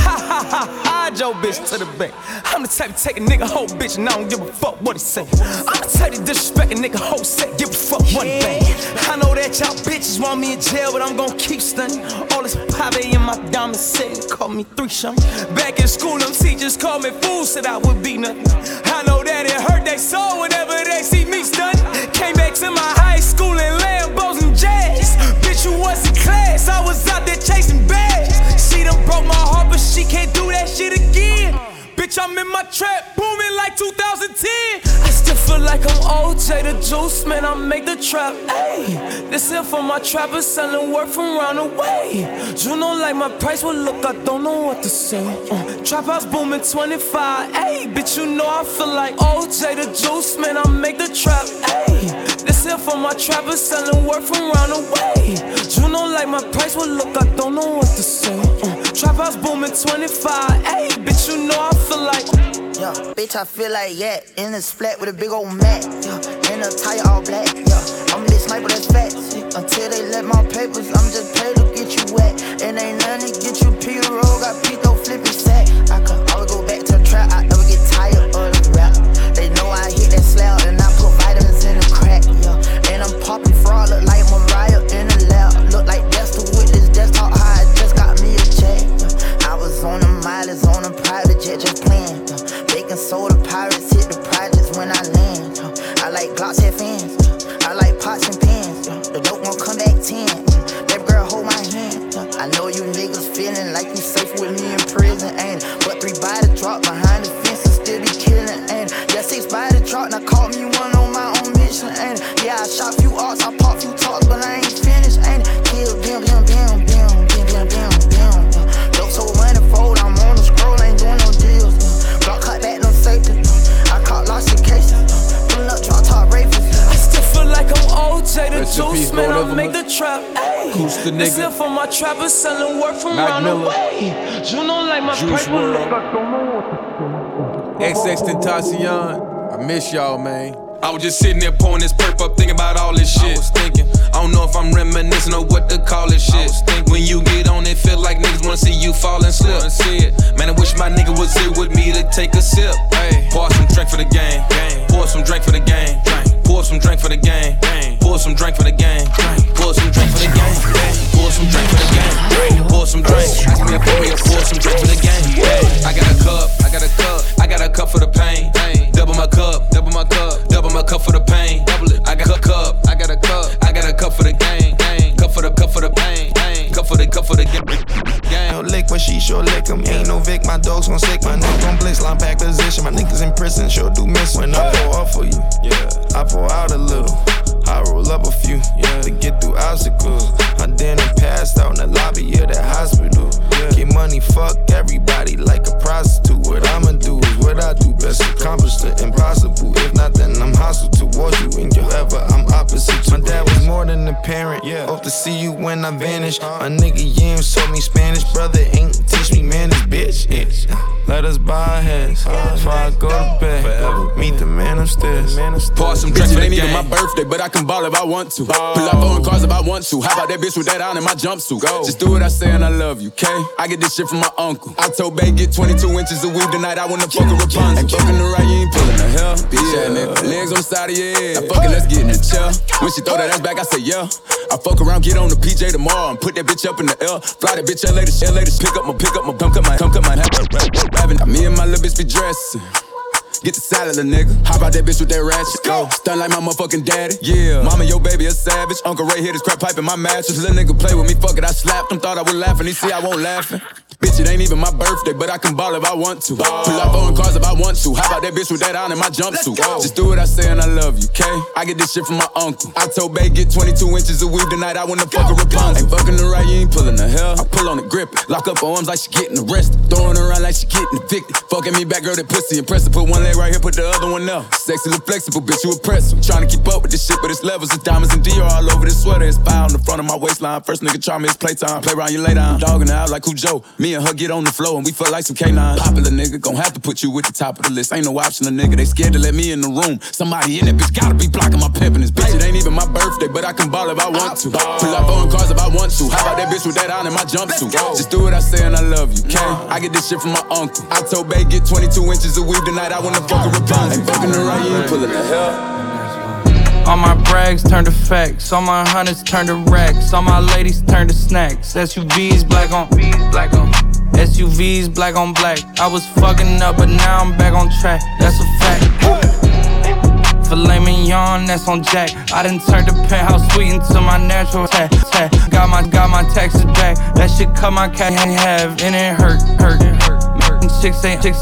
hide your bitch to the bank. I'm the type to take a nigga whole bitch and I don't give a fuck what he say. I'm the type to disrespect a nigga whole set, give a fuck what he bang. I know that y'all bitches want me in jail, but I'm gon' keep stunning. All this pave in my diamond set, call me 3 shun. Back in school, them teachers called me fool, said I would be nothing. I know that it hurt they soul whenever they see me stunning. Came back to my high school in Lambos and jazz. Bitch, you was in class, I was out there chasing bags. She done broke my heart, but she can't do that shit again. Bitch, I'm in my trap, booming like 2010. I still feel like I'm OJ the Juice, man, I make the trap, ayy. This here for my trappers selling work from round the way. You know like my price will look, I don't know what to say. Trap house booming 25, ayy. Bitch, you know I feel like OJ the Juice, man, I make the trap, ayy. This here for my trappers selling work from round the way. You know like my price will look, I don't know what to say. Trap house booming 25, ayy. Bitch, you know I feel like yeah, bitch, I feel like in this flat with a big old mat. Yeah, in a tire all black. Yeah, I'm this sniper that's fat. Until they let my papers, I'm just paid to get you wet. And ain't nothing to get you Peter roll. Got Pito flipping sack. I can always go back to the trap. I never get tired of the rap. They know I hit that slab and I put vitamins in the crack. Yeah, and I'm popping fraud, look like Mariah in the lab. Look like Dexter with this desktop high. Just got me a check. I was on the mileage on a private jet, just playing. Baking soda pirates hit the projects when I land. I like Glocks head fans. I like pots and pans. The dope won't come back 10. That girl hold my hand. I know you niggas feeling like you safe with me in prison, ain't it? But 3 body drop behind the fence and still be killing, ain't it? Yeah, 6 body drop, now call me one on my own mission, ain't it? Yeah, I shot few arts, I pop few talks, but I ain't finished, ain't it? Kill, bam, bam, bam, bam, bam, bam, bam, bam. Dope so manifold, I'm on the scroll, ain't doing no deals. Block cut back, no safety. I caught lots of cases. Pulling up, drop top rapists. I still feel like I'm OJ the Juice, man, I make the trap, ayy. This here for my trappers selling work from round the way. You know like my Juice paper look, WRLD. I don't know what to say. XXXTentacion, I miss y'all, man. I was just sitting there pouring this perp up, thinking about all this shit. I was thinking, I don't know if I'm reminiscing or what to call this shit. When you get on it, feel like niggas wanna see you fall and slip. Man, I wish my nigga was here with me to take a sip. Hey, pour some drink for the game. Pour some drink for the game. Pour some drink for the game. Pour some drink for the game. Pour some drink for the game. Pour some drink for the game. Pour some drink. Ask me a pour me a pour some drink for the game. I got a cup. I got a cup. I got a cup for the pain. Double my cup. Double my cup. Double my cup for the pain. Double it. I got a cup. I got a cup. I got a cup for the game. Cup for the pain. Cup for the game. No lick, but she sure lick 'em. Ain't no Vic, my dogs gon' sick. My nigga gon' blitz, line back position. My niggas in prison, sure do miss. When I pour up for you, I pour out a little. I roll up a few, to get through obstacles. I then passed out in the lobby of that hospital. Get money, fuck everybody like a prostitute. What I'ma do is what I do best, accomplish the impossible. If not, then I'm hostile towards you. And you ever, I'm opposite. My dad was more than a parent. Hope to see you when I vanish. My nigga Yams told me Spanish. Brother ain't teach me manners, bitch. Let us bow our heads before I go to bed. Meet the man upstairs. Pour some drinks, it ain't even my birthday, but I can ball if I want to. Pull up on cars if I want to. How about that bitch with that on in my jumpsuit? Just do what I say and I love you, okay? I get this shit from my uncle. I told Bay get 22 inches of weed tonight. I wanna fuck a Rapunzel. Ain't fucking the right, you ain't pulling the hell. Bitch ass nigga, legs on the side of your head. Now fuck it, let's get in the chair. When she throw that ass back, I say yeah. I fuck around, get on the PJ tomorrow and put that bitch up in the L. Fly that bitch LA to pick up my come cut my me and my little bitch be dressing. Get the salad, a nigga. Hop out that bitch with that ratchet. Go. Stun like my motherfucking daddy. Yeah. Mama, your baby a savage. Uncle Ray hit his crap pipe in my mattress. Little nigga play with me, fuck it, I slapped him. Thought I was laughing, he see I won't laughing. Bitch, it ain't even my birthday, but I can ball if I want to. Pull up on cars if I want to. How about that bitch with that on in my jumpsuit? Just do what I say and I love you, okay? I get this shit from my uncle. I told Bay get 22 inches of weed tonight. I wanna fuck a Rapunzel. Ain't fucking the right, you ain't pulling the hell. I pull on the grip, lock up her arms like she getting arrested. Throwing her around like she getting evicted. Fucking me back, girl, that pussy impressive. Put one leg right here, put the other one up. Sexy, look flexible, bitch, you impressive. Trying to keep up with this shit, but it's levels of diamonds and Dior all over this sweater. It's fire on the front of my waistline. First nigga try me, it's playtime. Play around, you lay down. Dogging out like Cujo. Me and her get on the floor and we feel like some K9. Popular nigga, gon' have to put you at the top of the list. Ain't no option, a nigga. They scared to let me in the room. Somebody in that bitch gotta be blocking my pimpin'. This bitch, it ain't even my birthday, but I can ball if I want to. Pull up on cars if I want to. How about that bitch with that on in my jumpsuit? Just do what I say and I love you, okay? I get this shit from my uncle. I told Bay get 22 inches of weed tonight. I wanna fuck a Rapunzel. Ain't fucking the right, you ain't pulling the hell. All my brags turn to facts, all my hundreds turn to racks, all my ladies turn to snacks. SUVs black on SUVs black on black. I was fucking up, but now I'm back on track. That's a fact. Filet mignon, that's on Jack. I done turned the penthouse suite into my natural tat. Got my taxes back. That shit cut my cat in half, and it hurt. Chicks ain't chicks.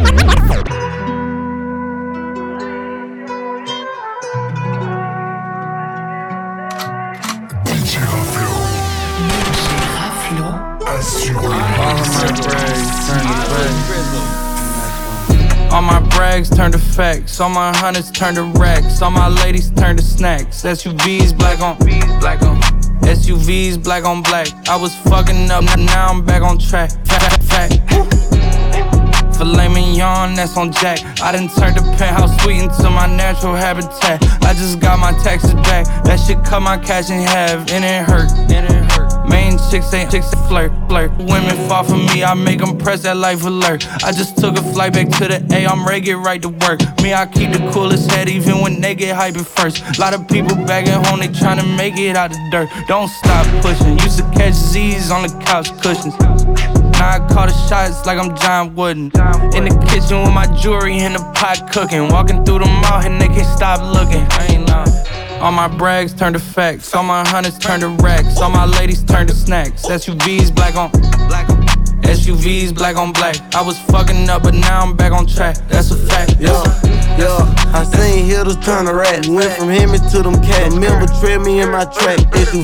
All my brags turn to facts, all my hundreds turn to racks, all my ladies turn to snacks. SUVs black on SUVs black on black. I was fucking up, now I'm back on track. Fact. Filet mignon, that's on Jack. I done turned the penthouse suite into my natural habitat. I just got my taxes back. That shit cut my cash in half, and it hurt. Main chicks ain't flirt. Women fall for me, I make them press that life alert. I just took a flight back to the A, I'm ready, get right to work. Me, I keep the coolest head even when they get hyped first. Lot of people back at home, they tryna make it out the dirt. Don't stop pushing, used to catch Z's on the couch cushions. Now I call the shots like I'm John Wooden. In the kitchen with my jewelry in the pot cooking. Walking through the mall and they can't stop looking. I ain't lying. All my brags turn to facts, all my hundreds turn to racks, all my ladies turn to snacks. SUVs black on SUVs black on black. I was fucking up, but now I'm back on track. That's a fact. Yeah, I seen hitters turn to rats. Went from Hemi to them cats. Remember, tread me in my track.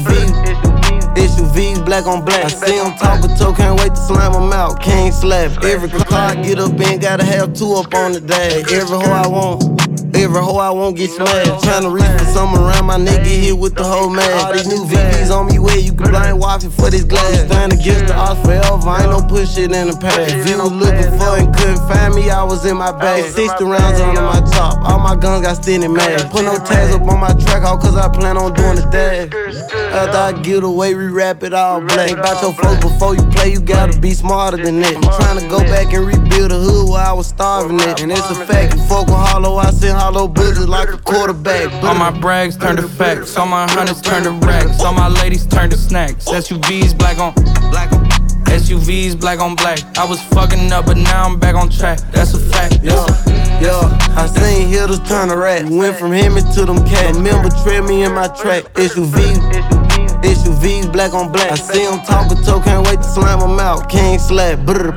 SUVs black on black. I see them talk a toe, can't wait to slam them out. Can't slap. Every car I get up in, gotta have two up on the dash. Every hoe I want get smashed. Tryna reach for something around my neck, get hit with the whole mag. All these new VVs on me where you can blind watch it for this glass. Stand against the odds forever, I ain't no push shit in the past. If you was looking for and couldn't find me, I was in my bag. 60 rounds under my top, all my guns got standing mad. Put no tags up on my track, all cause I plan on doing the dash. After I get away, re-rap it all black. Think about your folks before you play, you gotta be smarter than that. I'm tryna go back and rebuild the hood where I was starving at. And it's a fact, you fuck with hollow, I send hollow bullets like a quarterback. All my brags turn to facts, all my hundreds turn to racks, all my ladies turn to snacks. SUVs black on SUVs black on black. I was fucking up, but now I'm back on track. That's a fact. Yeah, I seen hitters turn to rats. Went from Hemi to them cats. Remember, tread me in my track. SUVs black on black. I see them talk a toe, can't wait to slam them out. King slap, brr.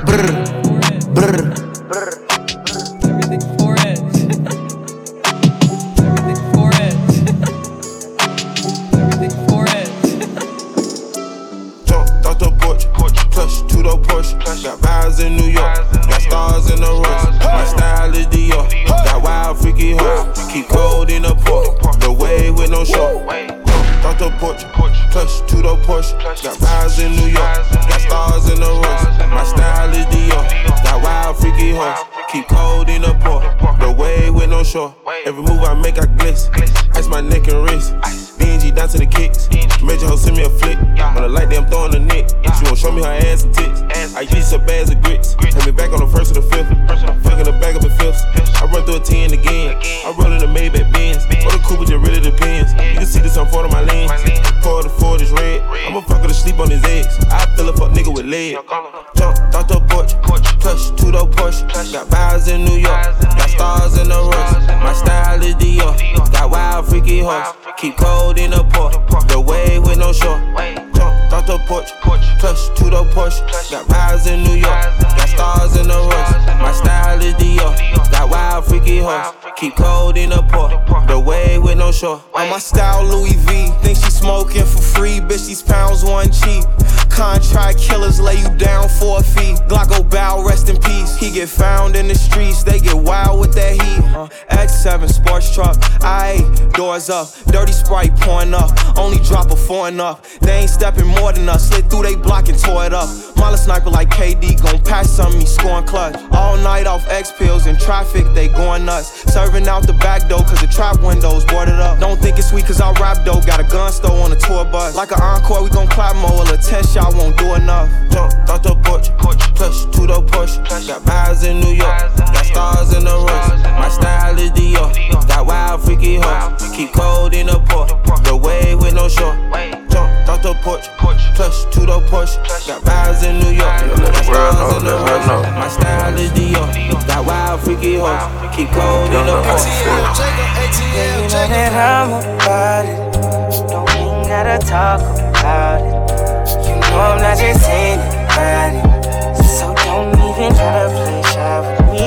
Got vibes in New York, got stars in the rush. My style is Dior, got wild freaky horse. Keep cold in the port, the wave with no short. Thought the porch, plush to the Porsche. Got vibes in New York, got stars in the rush. My style is Dior, got wild freaky horse. Keep cold in the port, the wave with no short. Every move I make I glitz, ice my neck and wrist. BNG down to the kicks, major hoe send me a flick. On the light, I'm throwing the nick. She won't show me her ass and tits. I eat some bags of grits. Take me back on the first or the fifth. Fucking the back up in fifths. I run through a 10 again. I roll in the Maybach Benz. Or the Cooper just really depends. You can see this on Ford on my lens. Pour the Ford is red. I'ma fuck her to sleep on his eggs. I feel a fuck nigga with legs. Jump, thought the porch. Touch Plush, two-door Porsche. Got vibes in New York, got stars in the rust. My style is Dior, got wild freaky horse. Keep cold in the port, the wave with no shore. Jump off the porch, plush, two-door Porsche. Got vibes in New York, got stars in the rust. My style is Dior, got wild freaky horse. Keep cold in the port, the wave with no shore. On my style Louis V, think she smoking for free, bitch these pounds one cheap. Contract killers lay you down for a fee. Glocko bow, rest in peace. He get found in the streets, they get wild with that heat. X7 sports truck, doors up, dirty Sprite pouring up. Only drop a 4 and up. They ain't stepping more than us. Slid through they block and tore it up. Mala sniper like KD, gon' pass something, he scoring clutch. All night off X pills in traffic, they going nuts. Serving out the back door, cause the trap windows boarded up. Don't think it's sweet cause I rap though. Got a gun store on the tour bus. Like an encore, we gon' clap more. A 10 shot won't do enough. Jump off the porch, plush, two-door Porsche. Got vibes in New York, got stars in the rust. My style is Dior, got wild freaky horse. Keep cold in the port, the wave with no shore. Jump off the porch, plush, two-door Porsche. Got vibes in New York, got stars in the rust. My style is Dior, got wild freaky horse. Keep cold in the port. Yeah, you know that I'm about it. Don't even gotta talk about it. You know I'm not just anybody, so don't even try to play shy with me.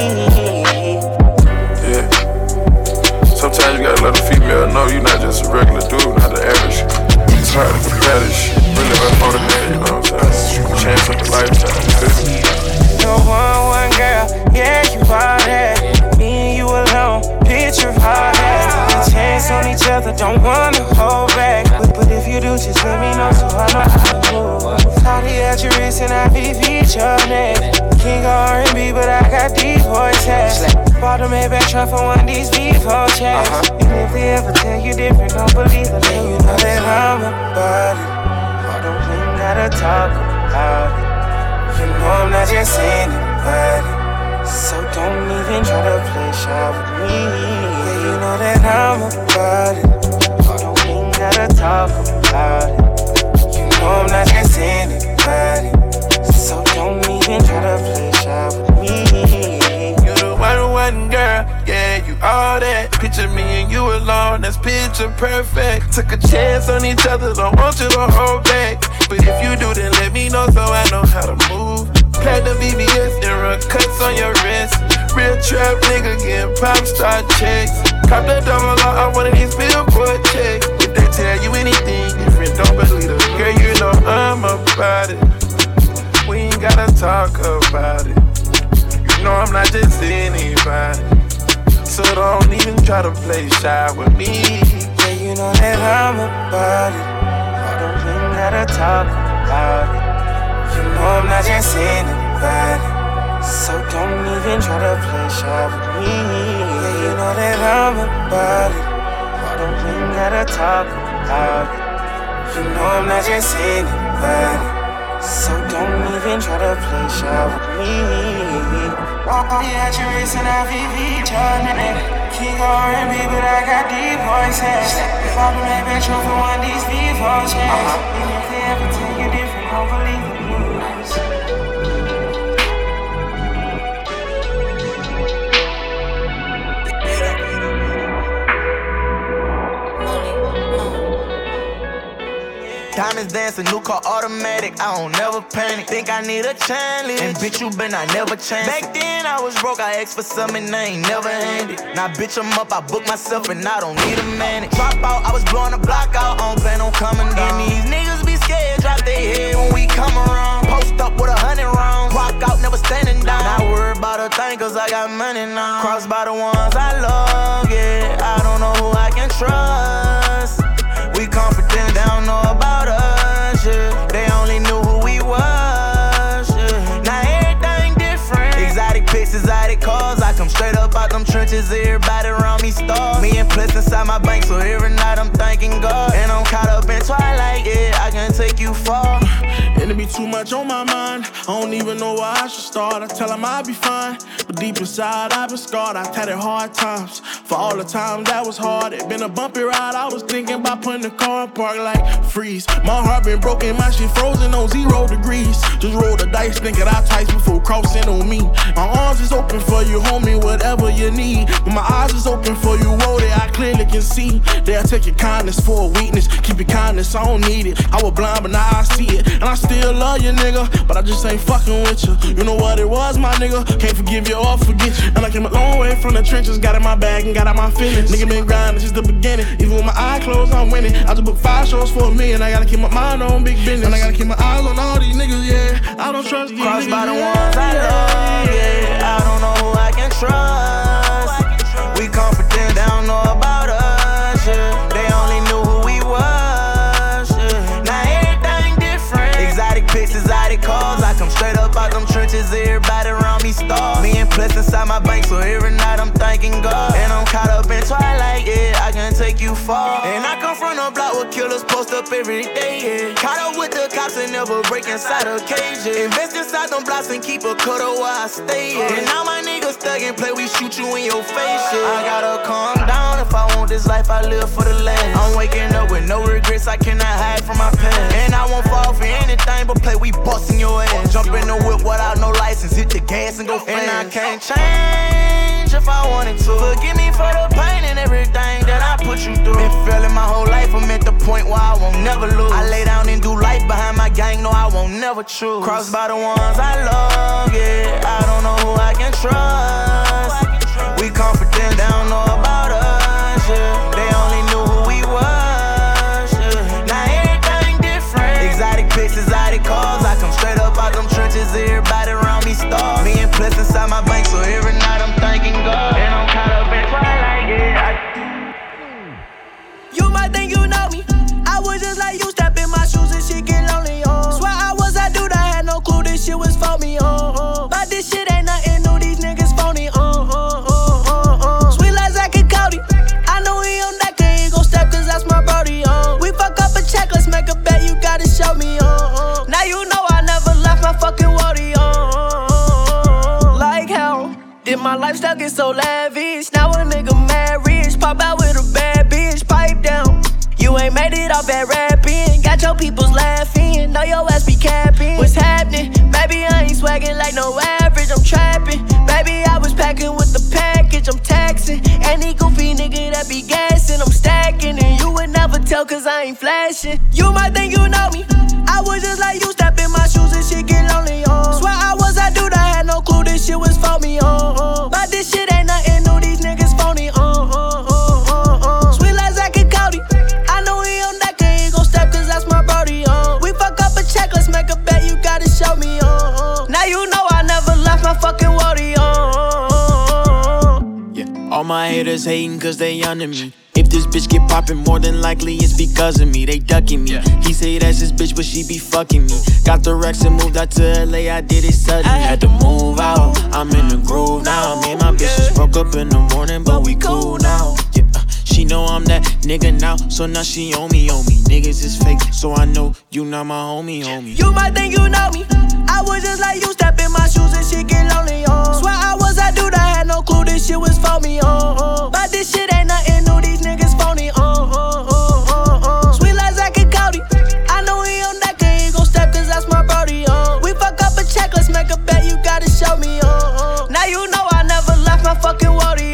Yeah. Sometimes you gotta let a female know you're not just a regular dude, not the average. It's hard to compare this shit. Really about more than that, you know what I'm saying? Chance of a lifetime, you feel me? No one girl, yeah, you are that. Me and you alone, picture of all that. A chance on each other, don't wanna hold back. But if you do, just let me know so I know how to move. Party at your wrist and I beat your neck. King of R&B, but I got deep voice hats. Bought a Maybach truck for one of these V4 checks. And if they ever tell you different, don't believe it. Then you know that I'm about it. Don't even gotta talk about it. You know I'm not just anybody, so don't even try to play shy with me. Yeah, you know that I'm about it. Don't even gotta talk about it. You know I'm not just anybody, so don't even try to play shy with me. You the one girl, yeah, you all that. Picture me and you alone, that's picture perfect. Took a chance on each other, don't want you to hold back. But if you do, then let me know so I know how to move. Platinum VVS and run cuts on your wrist. Real trap nigga getting pop star checks. Cop the double law on one of these billboard checks. If they tell you anything different, don't believe it. Girl, you know I'm about it. We ain't gotta talk about it. You know I'm not just anybody, so don't even try to play shy with me. Yeah, you know that I'm about it. Don't even gotta talk about it. You know I'm not just anybody, so don't even try to play shy with me. Yeah, you know that I'm about it. Don't even gotta talk about it. You know I'm not just anybody, so don't even try to play shy with me. Party at your wrist and I beat your neck. King of R&B, but I got deep voice hats. If I do make that truck for one of these V4 checks. Even if they ever tell you different, don't believe the news. Diamonds dancing, new car automatic, I don't never panic. Think I need a challenge, and bitch you been, I never changed. Back then I was broke, I asked for something, I ain't never handed. Now bitch I'm up, I book myself and I don't need a man. Drop out, I was blowing the block out, I don't plan on coming down. And these niggas be scared, drop their head when we come around. Post up with 100 rounds, walk out, never standing down. Not worried about a thing, cause I got money now. Crossed by the ones I love, yeah, I don't know who I can trust. We confident, they don't know about us, yeah. They only knew who we was, yeah. Now everything different. Exotic pics, exotic cars. I come straight up out them trenches, everybody around me stars. Me and Plus inside my bank, so every night I'm thanking God. And I'm caught up in twilight, yeah, I can take you far. It'll be too much on my mind, I don't even know where I should start. I tell them I'll be fine, but deep inside I've been scarred. I've had it hard times, for all the times that was hard. It been a bumpy ride, I was thinking about putting the car in park like freeze. My heart been broken, my shit frozen on 0 degrees. nice. Just roll the dice, think it out twice before crossing on me. My arms is open for you, homie, whatever you need. But my eyes is open for you, oh, that I clearly can see. They'll take your kindness for a weakness. Keep your kindness, I don't need it. I was blind, but now I see it. And I still love you, nigga, but I just ain't fucking with you. You know what it was, my nigga? Can't forgive you or forget you. And I came a long way from the trenches, got in my bag and got out my feelings. Nigga been grinding since the beginning. Even with my eyes closed, I'm winning. I just booked 5 shows for $1 million. I gotta keep my mind on big business. And I gotta keep my eyes on all these niggas, yeah. I don't trust these Crossed niggas. by the ones I love, yeah. I don't know who I can trust. We confident, they don't know about us, yeah. They only knew who we was, yeah. Now everything different. Exotic pics, exotic cars. I come straight up out them trenches, everybody around me stars. Me and Plus inside my bank, so every night I'm thanking God. And I'm caught up in twilight, yeah, I can take you far. And I come from a block where killers post up every day, yeah. Caught up with the cops and never break inside a cage, yeah. Invest inside them blocks and keep a cutter where I stay, yeah. And now my niggas thug and play, we shoot you in your face, yeah. I gotta calm down if I want this life, I live for the last. I'm waking up with no regrets, I cannot hide from my past. And I won't fall for anything but play, we bustin' your ass. Jump in the whip without no license, hit the gas and go fast. And I can't change if I wanted to. Forgive me for the pain and everything that I put you through. Been feeling my whole life, I'm at the point where I won't never lose. I lay down and do life behind my gang, no I won't never choose. Crossed by the ones I love, yeah. I don't know who I can trust. We confident, they don't know about us, yeah. They only knew who we was, yeah. Now everything different. Exotic pics, exotic cars. I come straight up out them trenches, everybody around me stars. Me and Plus inside my bank, so every night I'm thanking God. And I'm caught up in twilight, yeah. You might think you know me. I was just like you, step in my shoes and shit get lonely, Swear I was that dude, I had no clue this shit was for me, But this shit ain't nothing new, these niggas phony, Sweet like Zach and Cody. I know he on that, he ain't gon' step cause that's my brody, We fuck up a check, let's make a bet, you gotta show me, Now you know I never left my fucking worry, Like how did my lifestyle get so lavish? Now a nigga mad rich, pop out with a bad bitch, pipe down. You ain't made it off that rapping, got your peoples laughing, know your ass be capping. What's happening? Baby, I ain't swagging like no average, I'm trapping. Baby, I was packing with the package, I'm taxing. Any goofy nigga that be gassing, I'm stacking. And you would never tell cause I ain't flashing. You might think you know me, I was just like you, step in my shoes and shit get lonely, Swear I was that dude, I had no clue this shit was for me, But this shit ain't nothing new, these niggas phony, Sweet like Zach and Cody. I know he on that, he ain't gon' step cause that's my brody, We fuck up a check, let's make a bet, you gotta show me, Now you know I never left my fucking worry, Yeah, all my haters hating cause they under me. If this bitch get poppin', more than likely it's because of me. They ducking me. He say that's his bitch, but she be fucking me. Got the Rex and moved out to LA, I did it suddenly. I had to move out, I'm in the groove now. Me and my bitch just broke up in the morning, but we cool now. Yeah, she know I'm that nigga now, so now she on me. Niggas is fake, so I know you not my homie. You might think you know me, I was just like you, step in my shoes and shit get lonely, Swear I was that dude, I had no clue this shit was for me, But this shit ain't nothing new, these niggas phony, Sweet like Zach and Cody. I know he on that, he ain't gon' step cause that's my brody, We fuck up a check, let's make a bet, you gotta show me, Now you know I never left my fucking worry,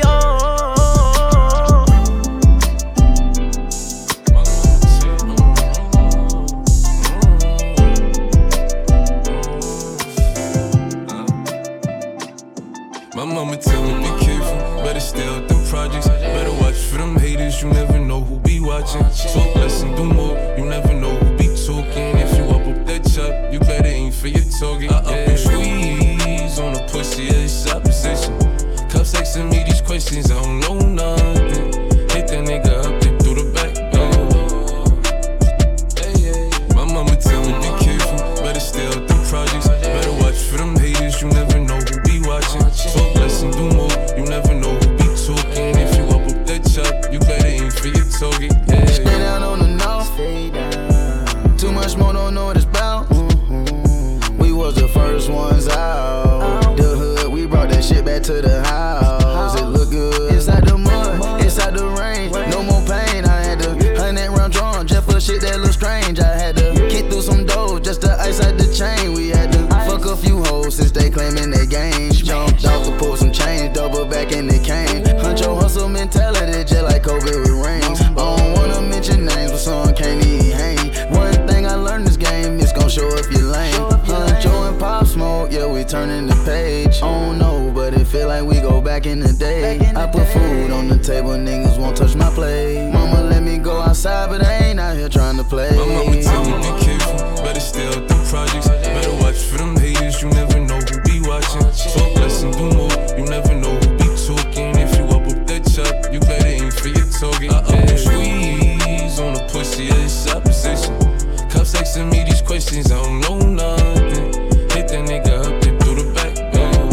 My mama tell me be careful, better stay out them projects. Better watch for them haters, you never know who be watching. Talk less and do more, you never know who be talking. If you up that chop, you better aim for your target. I up and squeeze on the pussy, it's opposition. Cups asking me these questions, I don't know nothing. Hit that nigga up there through the back door. My mama tell me be careful, better stay out them projects. Better watch for them haters, you never know who be watching. Talk less and do more, you never know who be talking. If you up that chop, you better aim for your target. Stay down on the north. Too much more, don't know what it's about. We was the first ones out. The hood, we brought that shit back to the house. It look good inside the mud, inside the rain. No more pain. I had to 100 round drum just for shit that look strange. I had to kick through some dough just to ice out the the chain. We had to fuck a few hoes since they claiming they game. Jumped off to pull some change, double back and it came. Huncho hustle mentality, just like Kobe with rings. I don't wanna mention names, but some can't even hang. One thing I learned this game, it's gon' show if you lame. Huncho and Pop Smoke, yeah, we turning the page. I don't know, but it feel like we go back in the day. I put food on the table, niggas won't touch my plate. Mama let me go outside, but I ain't out here trying to play. My mama tell me be careful, better stay out the projects. Better watch for them haters, you never know who be watching. Talk less and do more, you never know who be talking. If you up that chop, you better aim for your target. Squeeze on the pussy, it's opposition. Cops asking me these questions, I don't know nothing. Hit that nigga up there through the back door.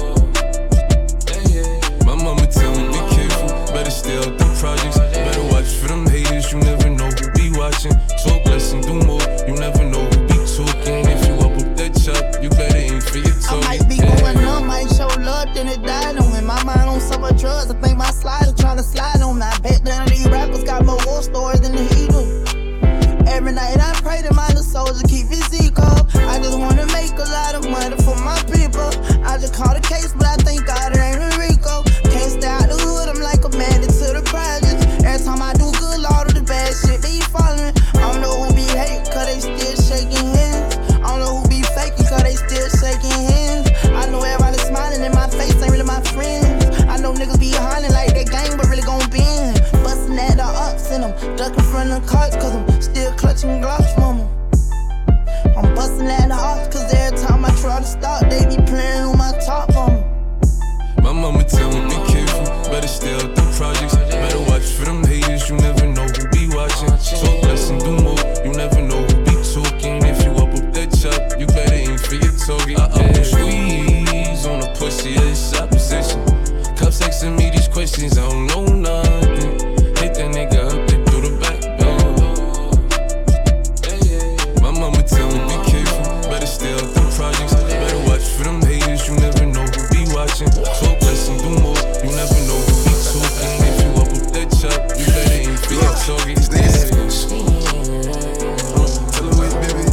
My mama tell me be careful, better stay out the projects. Better watch for them haters, you never know who be watching. Talk less and do more, you never know who be talking. If you up that chop, you better aim for your target. I might be going numb, might show love, then it died on me. My mind on so much drugs, I think my slider trying to slide on me. I bet none of these rappers got more war stories than the Eagle. Every night I pray to my little soldier keep his eco. I just wanna make a lot of money for my people. I just caught a case, but I think God it ain't a Rico. Can't stay out the hood, I'm like a bandit to the projects. Every time I do good, Lord of the bad shit, they following. I don't know who be hating, cause they still shaking hands. I don't know who be faking, cause they still shaking hands. I know everybody smiling in my face, ain't really my friends. I know niggas be hollering like they gang, but really gon' bend. Bustin' at the ops and I'm ducking from the carts, cause I'm still clutching Glocks from them. I'm bustin' at the ops, cause every time I try to stop, they be playing on my top on me. My mama tell me be careful, better stay out the projects. Better watch for them haters, you never know who be watching. Talk less and do more, you never know who be talking. If you up that chop, you better aim for your target. Squeeze on the pussy, it's opposition. Cops asking me these questions, I don't know nothing. Hit that nigga up there through the back door. My mama tell me be careful, better stay out them projects. Better watch for them haters, you never know who be watching. Talk less and do more, you never know who be talking. If you up that chop, you better aim for your target. Tell him wait, baby.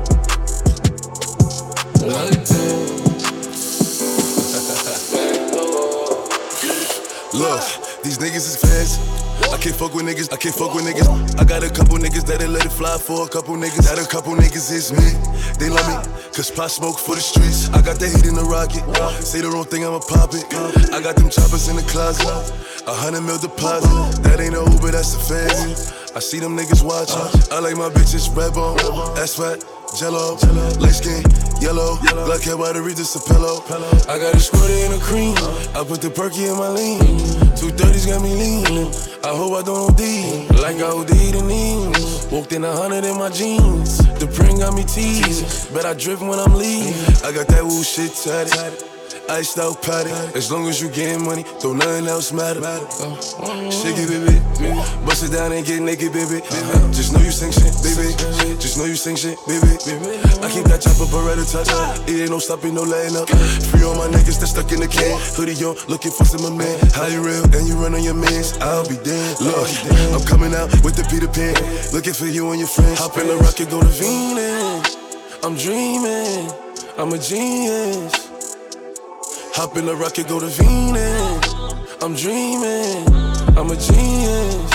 Look, these niggas is fast. I can't fuck with niggas, I can't fuck with niggas. I got a couple niggas that'll let it fly for a couple niggas. That a couple niggas is me. They love me, cause Pop Smoke for the streets. I got the heat in the rocket. Say the wrong thing, I'ma pop it. I got them choppers in the closet. 100 mil deposit. That ain't no Uber, that's a fancy. I see them niggas watching. I like my bitches red bone, asphalt, jello, light skin, yellow, black hair by the Regis a pillow. I got a squirty in a cream. I put the perky in my lean. 230s got me lean. I hope I don't OD, like I OD'd in these. Walked in 100 in my jeans. The print got me teased. Bet I drift when I'm leaving. I got that woo shit tatted. Iced out patty. As long as you getting money, don't nothing else matter. Shake it, baby. Bust it down and get naked, baby. Just know you sing shit, baby. Just know you sing shit, baby. I keep that chopper Beretta touch. It ain't no stopping, no letting up. Free all my niggas that stuck in the can. Hoodie on, looking for some man. How you real and you run on your mans? I'll be dead. Look, I'm coming out with the Peter Pan. Looking for you and your friends. Hop in the rocket, go to Venus. I'm dreaming, I'm a genius. Hop in the rocket, go to Venus. I'm dreaming, I'm a genius.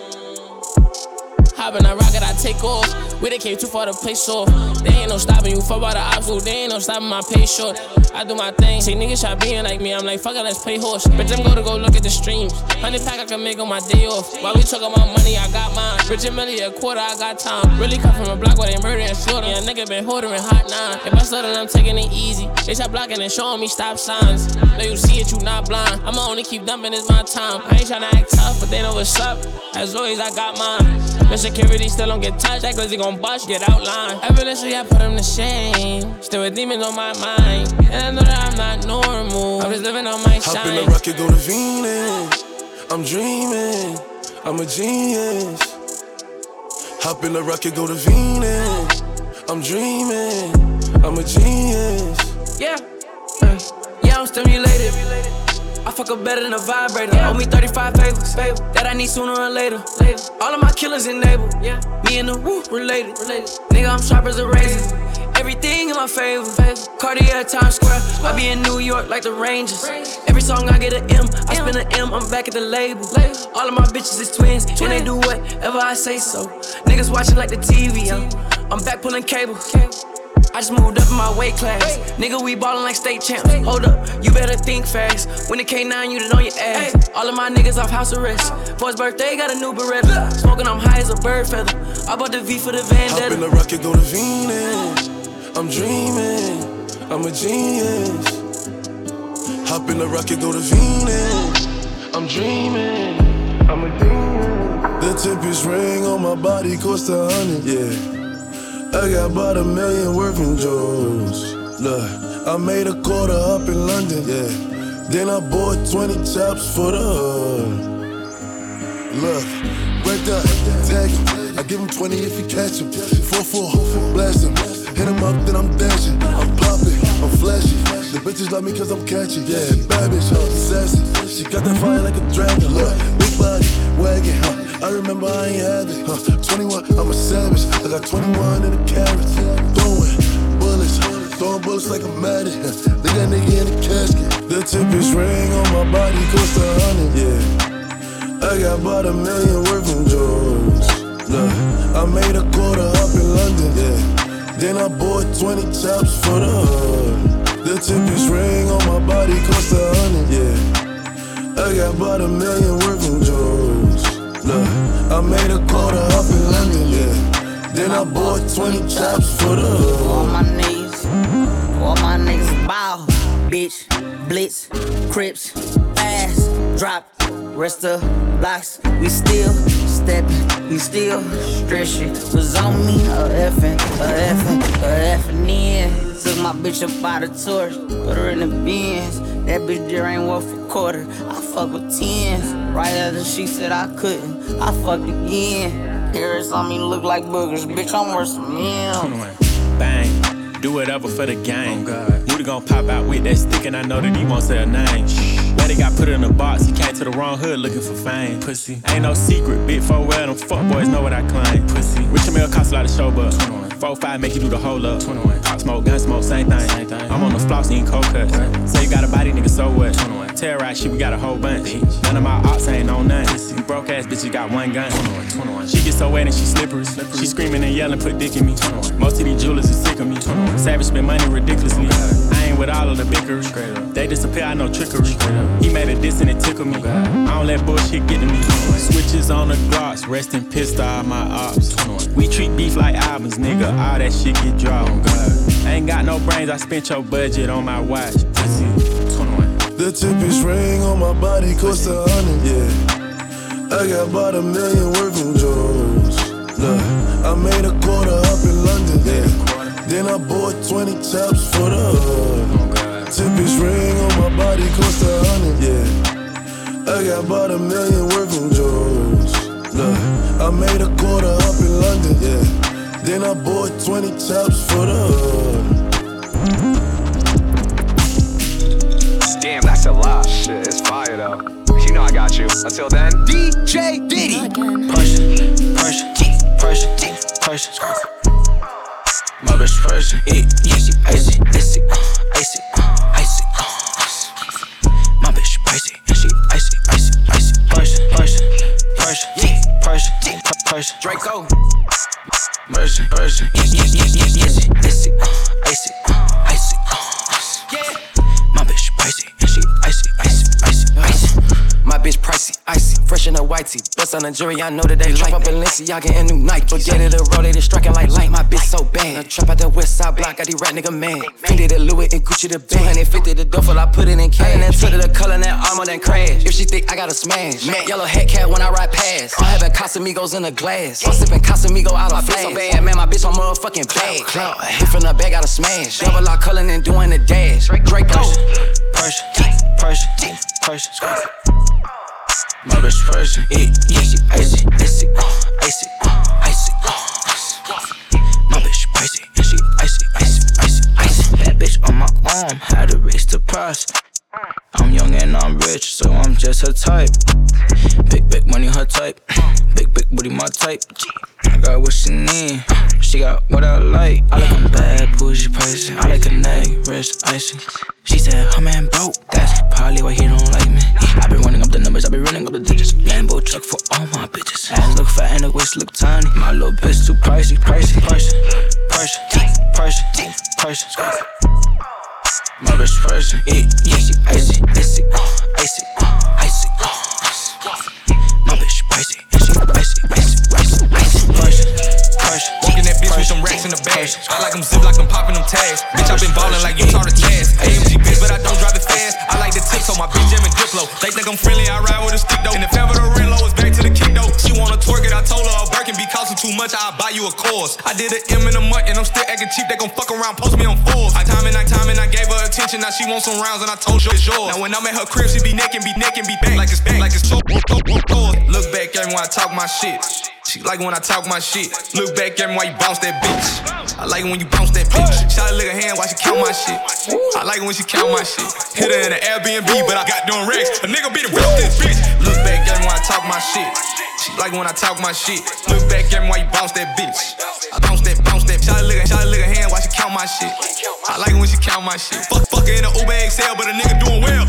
Hop in that rocket, I take off. We done came too far to play soft. They ain't no stopping you, fuck about the obstacle. They ain't no stopping my pay short. I do my thing, see niggas try being like me. I'm like, fuck it, let's play horse. Bitch, I'm gonna go look at the streams. 100 pack I can make on my day off. While we talk about money, I got mine. Rich and Millie, a quarter, I got time. Really come from a block where they murder and slaughter. Yeah, nigga been ordering hot 9. If I stutter, I'm taking it easy. They start blocking and showing me stop signs. Know you see it, you not blind. I'ma only keep dumping, it's my time. I ain't tryna act tough, but they know what's up. As always, I got mine. The security still don't get touched. That glizzy gon' bust, get outlined. Evidently, I put him to shame. Still with demons on my mind. And I know that I'm not normal. I'm just living on my shine. Hop in the rocket, go to Venus. I'm dreaming, I'm a genius. Hop in the rocket, go to Venus. I'm dreaming, I'm a genius. Yeah, yeah, I'm stimulated. I fuck up better than a vibrator. Owe me 35 favors that I need sooner or later. All of my killers enabled. Me and the woo related. Nigga, I'm sharp as a razor. everything in my favor. Cartier, Times Square, I be in New York like the Rangers. Every song I get an M, I spend an M, I'm back at the label. All of my bitches is twins, and they do whatever I say so. Niggas watching like the TV, I'm back pulling cable. I just moved up in my weight class. Nigga, we ballin' like state champs. Hold up, you better think fast. When the K9, you done on your ass. All of my niggas off house arrest. For his birthday, got a new Beretta. Smoking, I'm high as a bird feather. I bought the V for the Vendetta. Hop in the rocket, go to Venus. I'm dreaming, I'm a genius. Hop in the rocket, go to Venus. I'm dreaming, I'm a genius. The tempest ring on my body cost 100, yeah. I got about $1 million worth in jewels. Look, I made a quarter up in London, yeah. Then I bought 20 tops for the hood. Look, break up, tag him. I give him 20 if he catch him. 4-4, blast him. Hit him up, then I'm dashing. I'm popping, I'm flashy. The bitches love me cause I'm catchy. Yeah, bad bitch, sassy. She got that fire like a dragon. Look, big body, wagon, I remember I ain't had it. 21, I'm a savage. I got 21 in the carrots. Throwing bullets like I'm mad at. Leave that nigga in the casket. The tempest ring on my body cost 100, yeah. I got about $1 million worth in jewels. Look, I made a quarter up in London, yeah. Then I bought 20 tops for the hood. The tempest ring on my body cost 100, yeah. I got about $1 million worth in jewels. Look, I made a quarter up in London, yeah. Then I bought 20 tops for the hood. All my niggas bow, bitch, blitz, crips, fast, drop, rest of blocks. We still steppin', we still stretchin'. Was on me, a effin' in. Took my bitch up by the torch, put her in the bins. That bitch there ain't worth a quarter. I fuck with tens. Right after she said I couldn't, I fucked again. Harris on me look like boogers, bitch, I'm worth some meals. Bang, do whatever for the game. Woody gon' pop out with that stick and I know that he won't say a name. Daddy got put in a box, he came to the wrong hood looking for fame. Pussy, ain't no secret, big 4 well, them fuck boys know what I claim. Pussy, Rich and Mill cost a lot of show, but 4-5 make you do the whole up. 21. Pop smoke, gun smoke, same thing. I'm on the floss eating cold cuts. Say you got a body, nigga, so what? 21. Terrorize shit, we got a whole bunch. None of my ops ain't on none. You broke ass bitches got one gun. 21. She get so wet and she slippery. She screaming and yelling, put dick in me. 21. Most of these jewelers is sick of me. 21. Savage spend money ridiculously. I ain't with all of the bickery. They disappear, I know trickery. He made a diss and it tickled me. I don't let bullshit get to me. Switches on the Glocks, resting pissed all my ops. We treat beef like albums, nigga. All that shit get dropped. I ain't got no brains, I spent your budget on my watch. Pussy, 21. The tempest ring on my body cost 100, yeah. I got about $1 million worth in jewels. Look, I made a quarter up in London, yeah. Then I bought 20 tops for the hood. Tempest ring on my body cost 100, yeah. I got about $1 million worth in jewels. Look, I made a quarter up in London, yeah. Then I bought 20 tops for the hood. Damn, that's a lot. Shit, it's fire though. You know I got you. Until then, DJ Diddy. Pressure. My bitch pressure, icy. My bitch pricey, and she icy. Pressure. Draco. Mercy, icy. My bitch pricey, and she icy. My bitch pricey, icy, fresh in a white tee. Bust on the jury, I know that they like up Balenciaga and new Nike. Forget it, the road, they just striking like light. My bitch so bad. I trap out the west side block, got these rat nigga mad. Fendi the Louis and Gucci the band. 250 the duffel, I put it in cash. And then took the color, that armor, then crash. If she think I gotta smash. Matt yellow hat cat when I ride past. I'm having Casamigos in a glass. I'm sipping Casamigo out of flash. My bitch so bad, man, my bitch on motherfucking bag. Clout, hit from the bag, gotta smash. Double lock color and doing the dash. Draco. Pressure. My bitch pressure, icy. My bitch pricey, and she icy. Bad bitch on my arm, had to raise the price. I'm young and I'm rich, so I'm just her type. Big money, her type. Big booty, my type. I got what she need. She got what I like. I like a bad, bougie person. I like a neck, wrist, icy. She said, her man broke. That's probably why he don't like me. I been running up the numbers, I been running up the digits. Lambo truck for all my bitches. Ass look fat and the waist look tiny. My little bitch too pricey. My bitch pricey. Yeah, she icy. My bitch pricey. And she icy. Walking that bitch with some racks in the bag. I like them zip like I'm popping them tags. Bitch, I been ballin' like you taught a task. AMG bitch, but I don't drive it fast. I like the tip, so my bitch jamming Diplo. They think I'm friendly, I ride with a stick though. And if ever the real low is back to the kick though. She wanna twerk it, I told her a Birkin be costing too much, I'll buy you a course. I did an M in a month and I'm still acting cheap. They gon' fuck around, post me on Forbes. I time and I gave her attention. Now she wants some rounds and I told her it's yours. Now when I'm at her crib, she be naked, be back. Like it's so. Look back at me when I talk my shit. She like when I talk my shit. Look back at me while you bounce that bitch. I like it when you bounce that bitch. Shot a lick her hand while she count my shit. I like it when she count my shit. Hit her in an Airbnb, but I got doing racks. A nigga be the real this bitch. Look back at me when I talk my shit. She like when I talk my shit. Look back at me while you bounce that bitch. I bounce that. Shot a lick her hand while she count my shit. I like it when she count my shit. Fuck her in an Uber XL, but a nigga doing well.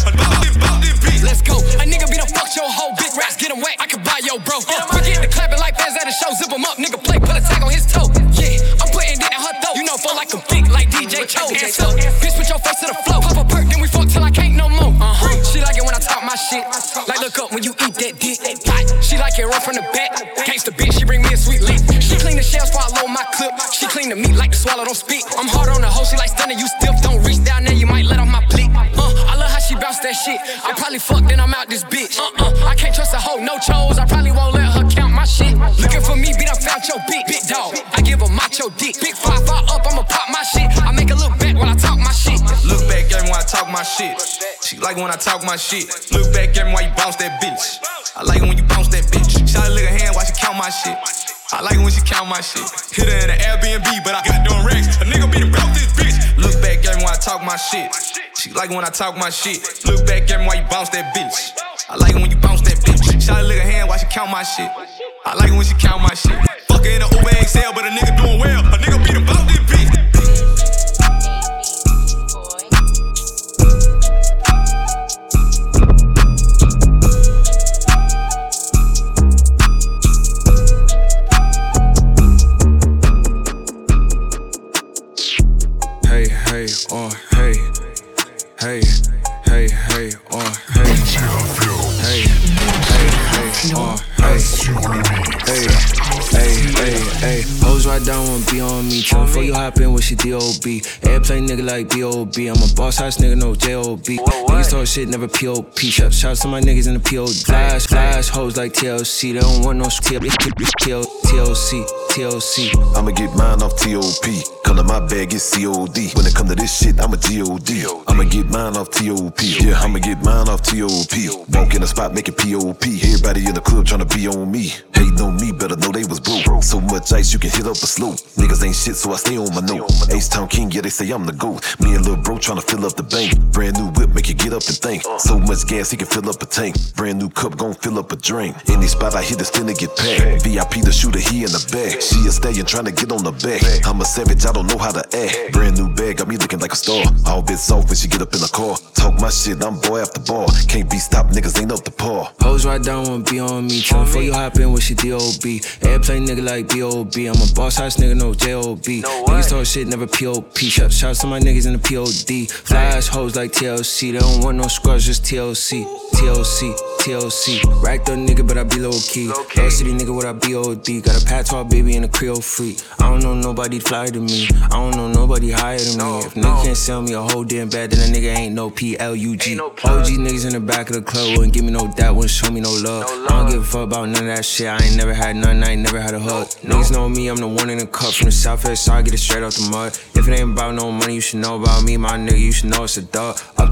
Let's go. A nigga be done fuck your whole big rats, get him wet. I can buy your bro. We get the clapping like fans at a show. Zip him up, nigga play, put a tag on his toe. Yeah, I'm putting it in her throat. You know, feel like a big like DJ Cho. Hands up, bitch, put your face to the floor. Pop a perk, then we fuck till I can't no more. She like it when I talk my shit. Like look up when you eat that dick. She like it rough from the back. Gangsta bitch, she bring me a sweet lick. She clean the shells before I load my clip. She clean the meat like the swallow, don't spit. I'm hard on the hoe, she like stunning, you stiff. Don't reach down there, you might let off my blick. I love how she bounce that shit. I probably fuck, then I'm out this bitch. I can't trust a hoe, no chose. I probably won't let her count my shit. Looking for me, beat up, found your big dog. I give her macho dick. Big 5 up, I'ma pop my shit. I make her look back while I talk my shit. Look back at me when I talk my shit. She like when I talk my shit. Look back at me while you bounce that bitch. I like it when you bounce that bitch. Shot a lick her hand while she count my shit. I like it when she count my shit. Hit her in an Airbnb, but I got doing racks. A nigga be the real this bitch. Look back at me when I talk my shit. She like when I talk my shit. Look back at me while you bounce that bitch. I like it when you bounce that bitch. Shot a lick her hand while she count my shit. I like it when she count my shit. Fuck her in an Uber XL, but a nigga doing well. A nigga be the bout this bitch. Hoes right down won't be on me. Tell before you hop in with your D.O.B. Airplane nigga like B.O.B. I'm a boss house nigga, no J.O.B. Niggas talk shit, never P.O.P. Shout to my niggas in the P.O.D. Flash hoes like TLC. They don't want no TLC. I'ma get mine off T.O.P. Color my bag is C.O.D. When it come to this shit, I'm a G.O.D. I'ma get mine off T.O.P. Yeah, I'ma get mine off T.O.P. Walk in the spot, make it P.O.P. Everybody in the club tryna be on me. Hating on me, better know they was broke. So much ice, you can hit up a slope. Niggas ain't shit, so I stay on my note. H-Town King, yeah, they say I'm the GOAT. Me and Lil Bro tryna fill up the bank. Brand new whip, make you get up and think. So much gas, he can fill up a tank. Brand new cup, gon' fill up a drink. Any spot I hit, it's finna get packed. VIP the shooter, he in the back. She a stallion tryna get on the back. I'm a savage, I don't know how to act. Brand new bag, got me looking like a star. All bit soft when she get up in the car. Talk my shit, I'm boy after bar. Can't be stopped, niggas ain't up to par. Hoes right down won't be on me. Tell before you hop in with your D.O.B. Airplane nigga like B.O.B. I'm a boss house nigga, no J.O.B. Niggas talk shit, never P.O.P. Shout to my niggas in the P.O.D. Flash hoes like TLC. They don't want no scrubs, just TLC. Racked up nigga, but I be low key. Low city nigga with a B.O.D. Got a patois baby and a Creole freak. I don't know nobody fly to me. I don't know nobody higher than me. If nigga can't sell me a whole damn bad, then a nigga ain't no P.L.U.G. OG niggas in the back of the club wouldn't give me no doubt, wouldn't show me no love. I don't give a fuck about none of that shit. I ain't never had none, I ain't never had a hug. Niggas know me, I'm the one in the cup from the southwest, so I get it straight out the mud. If it ain't about no money, you should know about me, my nigga, you should know it's a dog. Up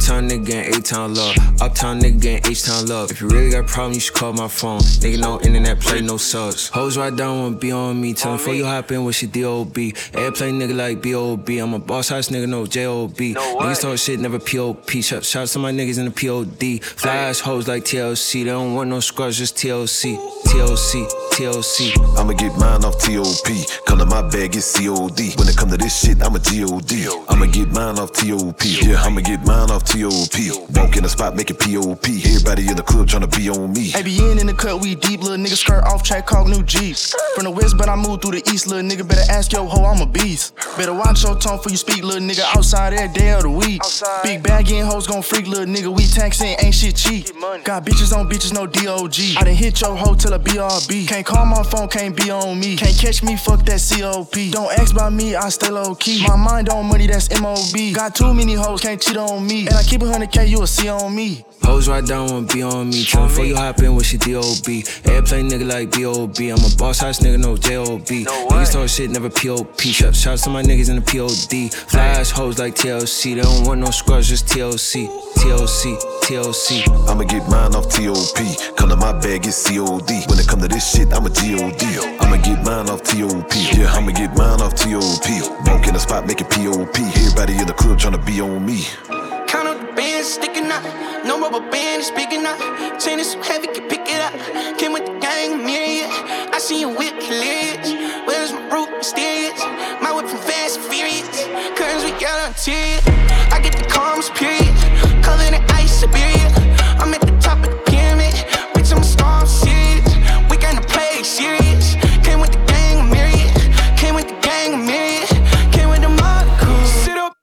Uptown nigga getting A-Town love. Uptown nigga getting H-Town love. If you really got a problem, you should call my phone. Nigga, no internet, play no subs. Hoes right down, wanna be on me. Tell them before you hop in with your D.O.B. Airplay nigga like B.O.B. I'm a boss house nigga, no J.O.B. Niggas talk shit, never P.O.P. Shout to my niggas in the P.O.D. Fly ass hoes like TLC. They don't want no scrubs, just TLC. TLC, TLC. I'ma get mine off T.O.P. Come to my bag, it's C.O.D. When it come to this shit, I'm a G.O.D. I'ma get mine off T.O.P. Yeah, I'ma get mine off T.O.P. Walk in the spot, make it P.O.P. Everybody in the club tryna be on me. ABN in the cut, we deep, little nigga skirt off track, call new G's. From the west, but I moved through the east, little nigga better ask yo ho, I'm a beast. Better watch your tone before you speak, little nigga outside every day of the week. Big bag in hoes gon' freak, little nigga, we taxing, ain't shit cheap. Got bitches on bitches, no D.O.G. I done hit your hoe till a BRB. Can't call my phone, can't be on me. Can't catch me, fuck that C.O.P. Don't ask about me, I stay low key. My mind on money, that's M.O.B. Got too many hoes, can't cheat on me. And I keep 100K, you'll see on me. Hoes right down, wanna be on me. Tell them before you hop in with your D.O.B. Airplay nigga like B.O.B. I'm a boss house nigga, no J.O.B. Niggas talk shit, never P.O.P. Shout to my niggas in the P.O.D. Fly ass hoes like TLC. They don't want no scrubs, just TLC. TLC, TLC. I'ma get mine off T.O.P. Come to my bag, it's C.O.D. When it come to this shit, I'm a G.O.D. I'ma get mine off T.O.P. Yeah, I'ma get mine off T.O.P. Walk in the spot, make it P.O.P. Everybody in the club tryna be on me. Count up the bands sticking out. No rubber band is speaking out. Chain is so heavy, can pick it up. Came with the gang, myriad. I see you whip hilarious. Where's my root mysterious? My whip from Fast and Furious. Curtains with yellow interior. I get the calmest period. Color in ice, Siberia. I'm at the top of the pyramid. Bitch, I'm a star, I'm serious. We gonna play serious. Came with the gang, myriad. Came with the gang, myriad. Came with the mother crew. Sit up,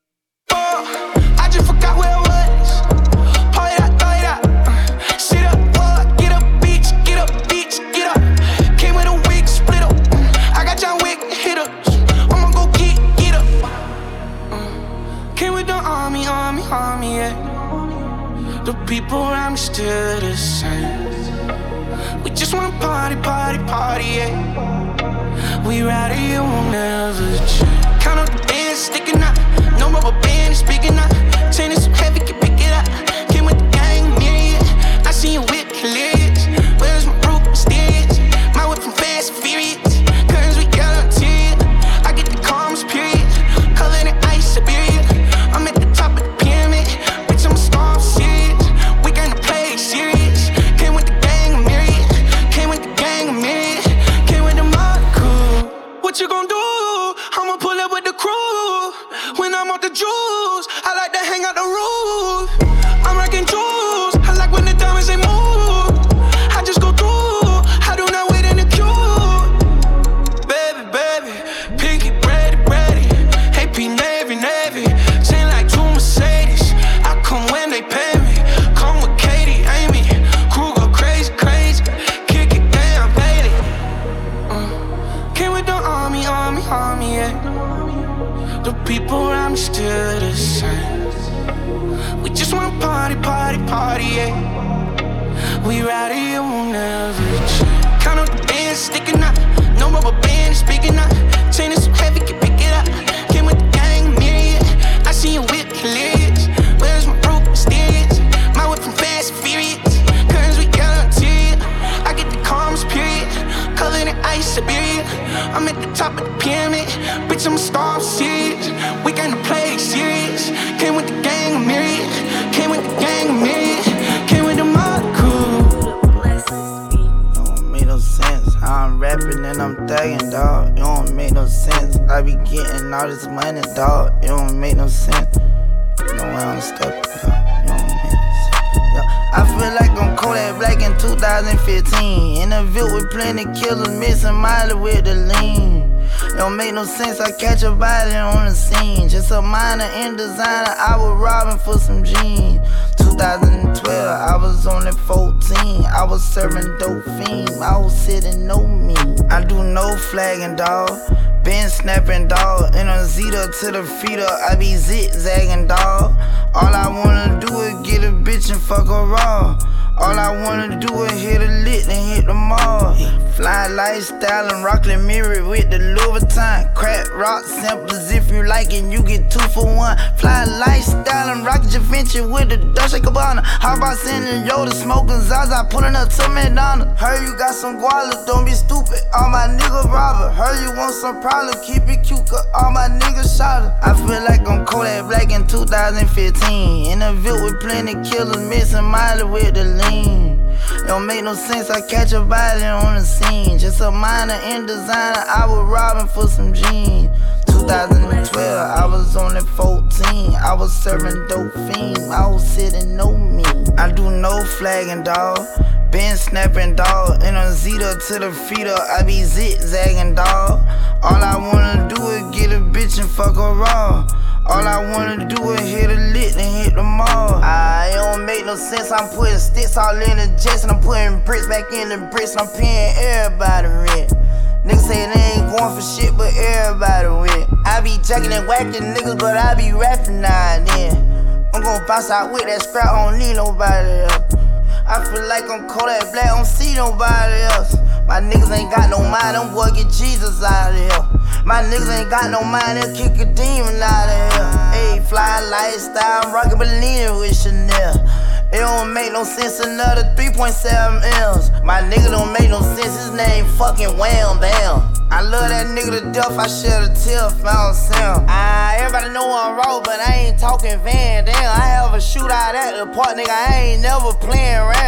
I just forgot where I was. Pull it out, throw it out. Sit up, get up, bitch, get up, bitch, get up. Came with a wig, split up. I got John Wick, hit up. I'ma go get up. Came with the army, yeah. The people around me still the same. We just wanna party, yeah. We ride it, it won't never change. Count up the bands sticking out. No rubber band is speaking out. Chain is so heavy, can pick it up. Came with the gang, myriad. I see you whip hilarious. Where's my root mysterious? My whip from Fast and Furious. Curtains with yellow interior. I get the calmest period. Color in ice, Siberia. I'm at the top of the pyramid. Bitch, I'm a star, I'm serious. We gonna play serious. Came with the gang, myriad. Came with the gang, myriad. Came with the mother crew. What you gon' do? I'ma pull up with the crew. When I'm off the juice, I like to hang out the roof. I'm rocking jewels. I like when the diamonds they move. I just go through. I do not wait in the queue. Baby, pinky ready. AP Navy. Chain like two Mercedes. I come when they pay me. Come with Katie, Amy. Crew go crazy. Kick it down, baby. Came with the army, yeah. The people around me still the same. We just wanna party, yeah. We ride it, it won't never change. Count up the bands sticking out. No rubber band is speaking out. Chain is so heavy, can pick it up. Came with the gang, myriad. I see you whip hilarious. Where's my root mysterious? My whip from Fast and Furious. Curtains with yellow interior. I get the calmest period. Color in ice, Siberia. I'm at the top of the pyramid. Bitch, I'm a star, I'm serious. We gonna play serious. Came with the gang, myriad. Came with the gang, myriad. Came with the mother crew. Don't make no sense. I'm rapping and I'm thugging, dawg. It don't make no sense. I be getting all this money, dawg. It don't make no sense. You know why I'm stepping, dawg. It don't make no sense. I feel like I'm Kodak Black in 2015. In a Ville with plenty killers, missing Miley with the lean. It don't make no sense, I catch a body on the scene. Just a minor in designer, I was robbing for some jeans. 2012, I was only 14. I was serving dope fiends, I was sitting no me. I do no flagging, dawg. Been snapping, dawg. In a Zeta to the feeder, I be zigzagging, dawg. All I wanna do is get a bitch and fuck her raw. All I wanna do is hit a lick and hit the mall. Fly lifestyle and Rockland mirror with the Louis Vuitton. Crack rock samples if you like it, you get 2 for 1. Fly lifestyle and Rocket Javinci with the Dolce Gabbana. How about sending Yoda smoking Zaza, pulling up to McDonald's? Heard you got some guala, don't be stupid. All my niggas robber. Heard you want some problem, keep it cute, cause all my niggas shot her. I feel like I'm Kodak Black in 2015. In a Ville with plenty killers, missing Miley with the lean. It don't make no sense, I catch a body on the scene. Just a minor in designer, I was robbing for some jeans. 2012, I was only 14. I was serving dope fiends, I was sitting no me. I do no flagging, dawg. Been snapping, dawg. In a Zeta to the feeder, I be zigzagging, dawg. All I wanna do is get a bitch and fuck her raw. All I wanna do is hit a lick and hit the mall. It don't make no sense, I'm putting sticks all in the jets and I'm putting bricks back in the bricks and I'm paying everybody rent. Niggas say they ain't going for shit, but everybody win. I be jacking and whacking niggas, but I be rapping now and then. I'm gon' bounce out with that scrap, I don't need nobody else. I feel like I'm Kodak Black, I don't see nobody else. My niggas ain't got no mind, them boy get Jesus out of here. My niggas ain't got no mind, they'll kick a demon out of here. Ayy, fly lifestyle, I'm rockin' Bellini with Chanel. It don't make no sense, another 3.7 M's. My nigga don't make no sense, his name fucking Wham Bam. I love that nigga to death, I shed a tear if I don't see him. Everybody know I'm raw, but I ain't talking Van Dam. I have a shootout at the park, nigga, I ain't never playing around.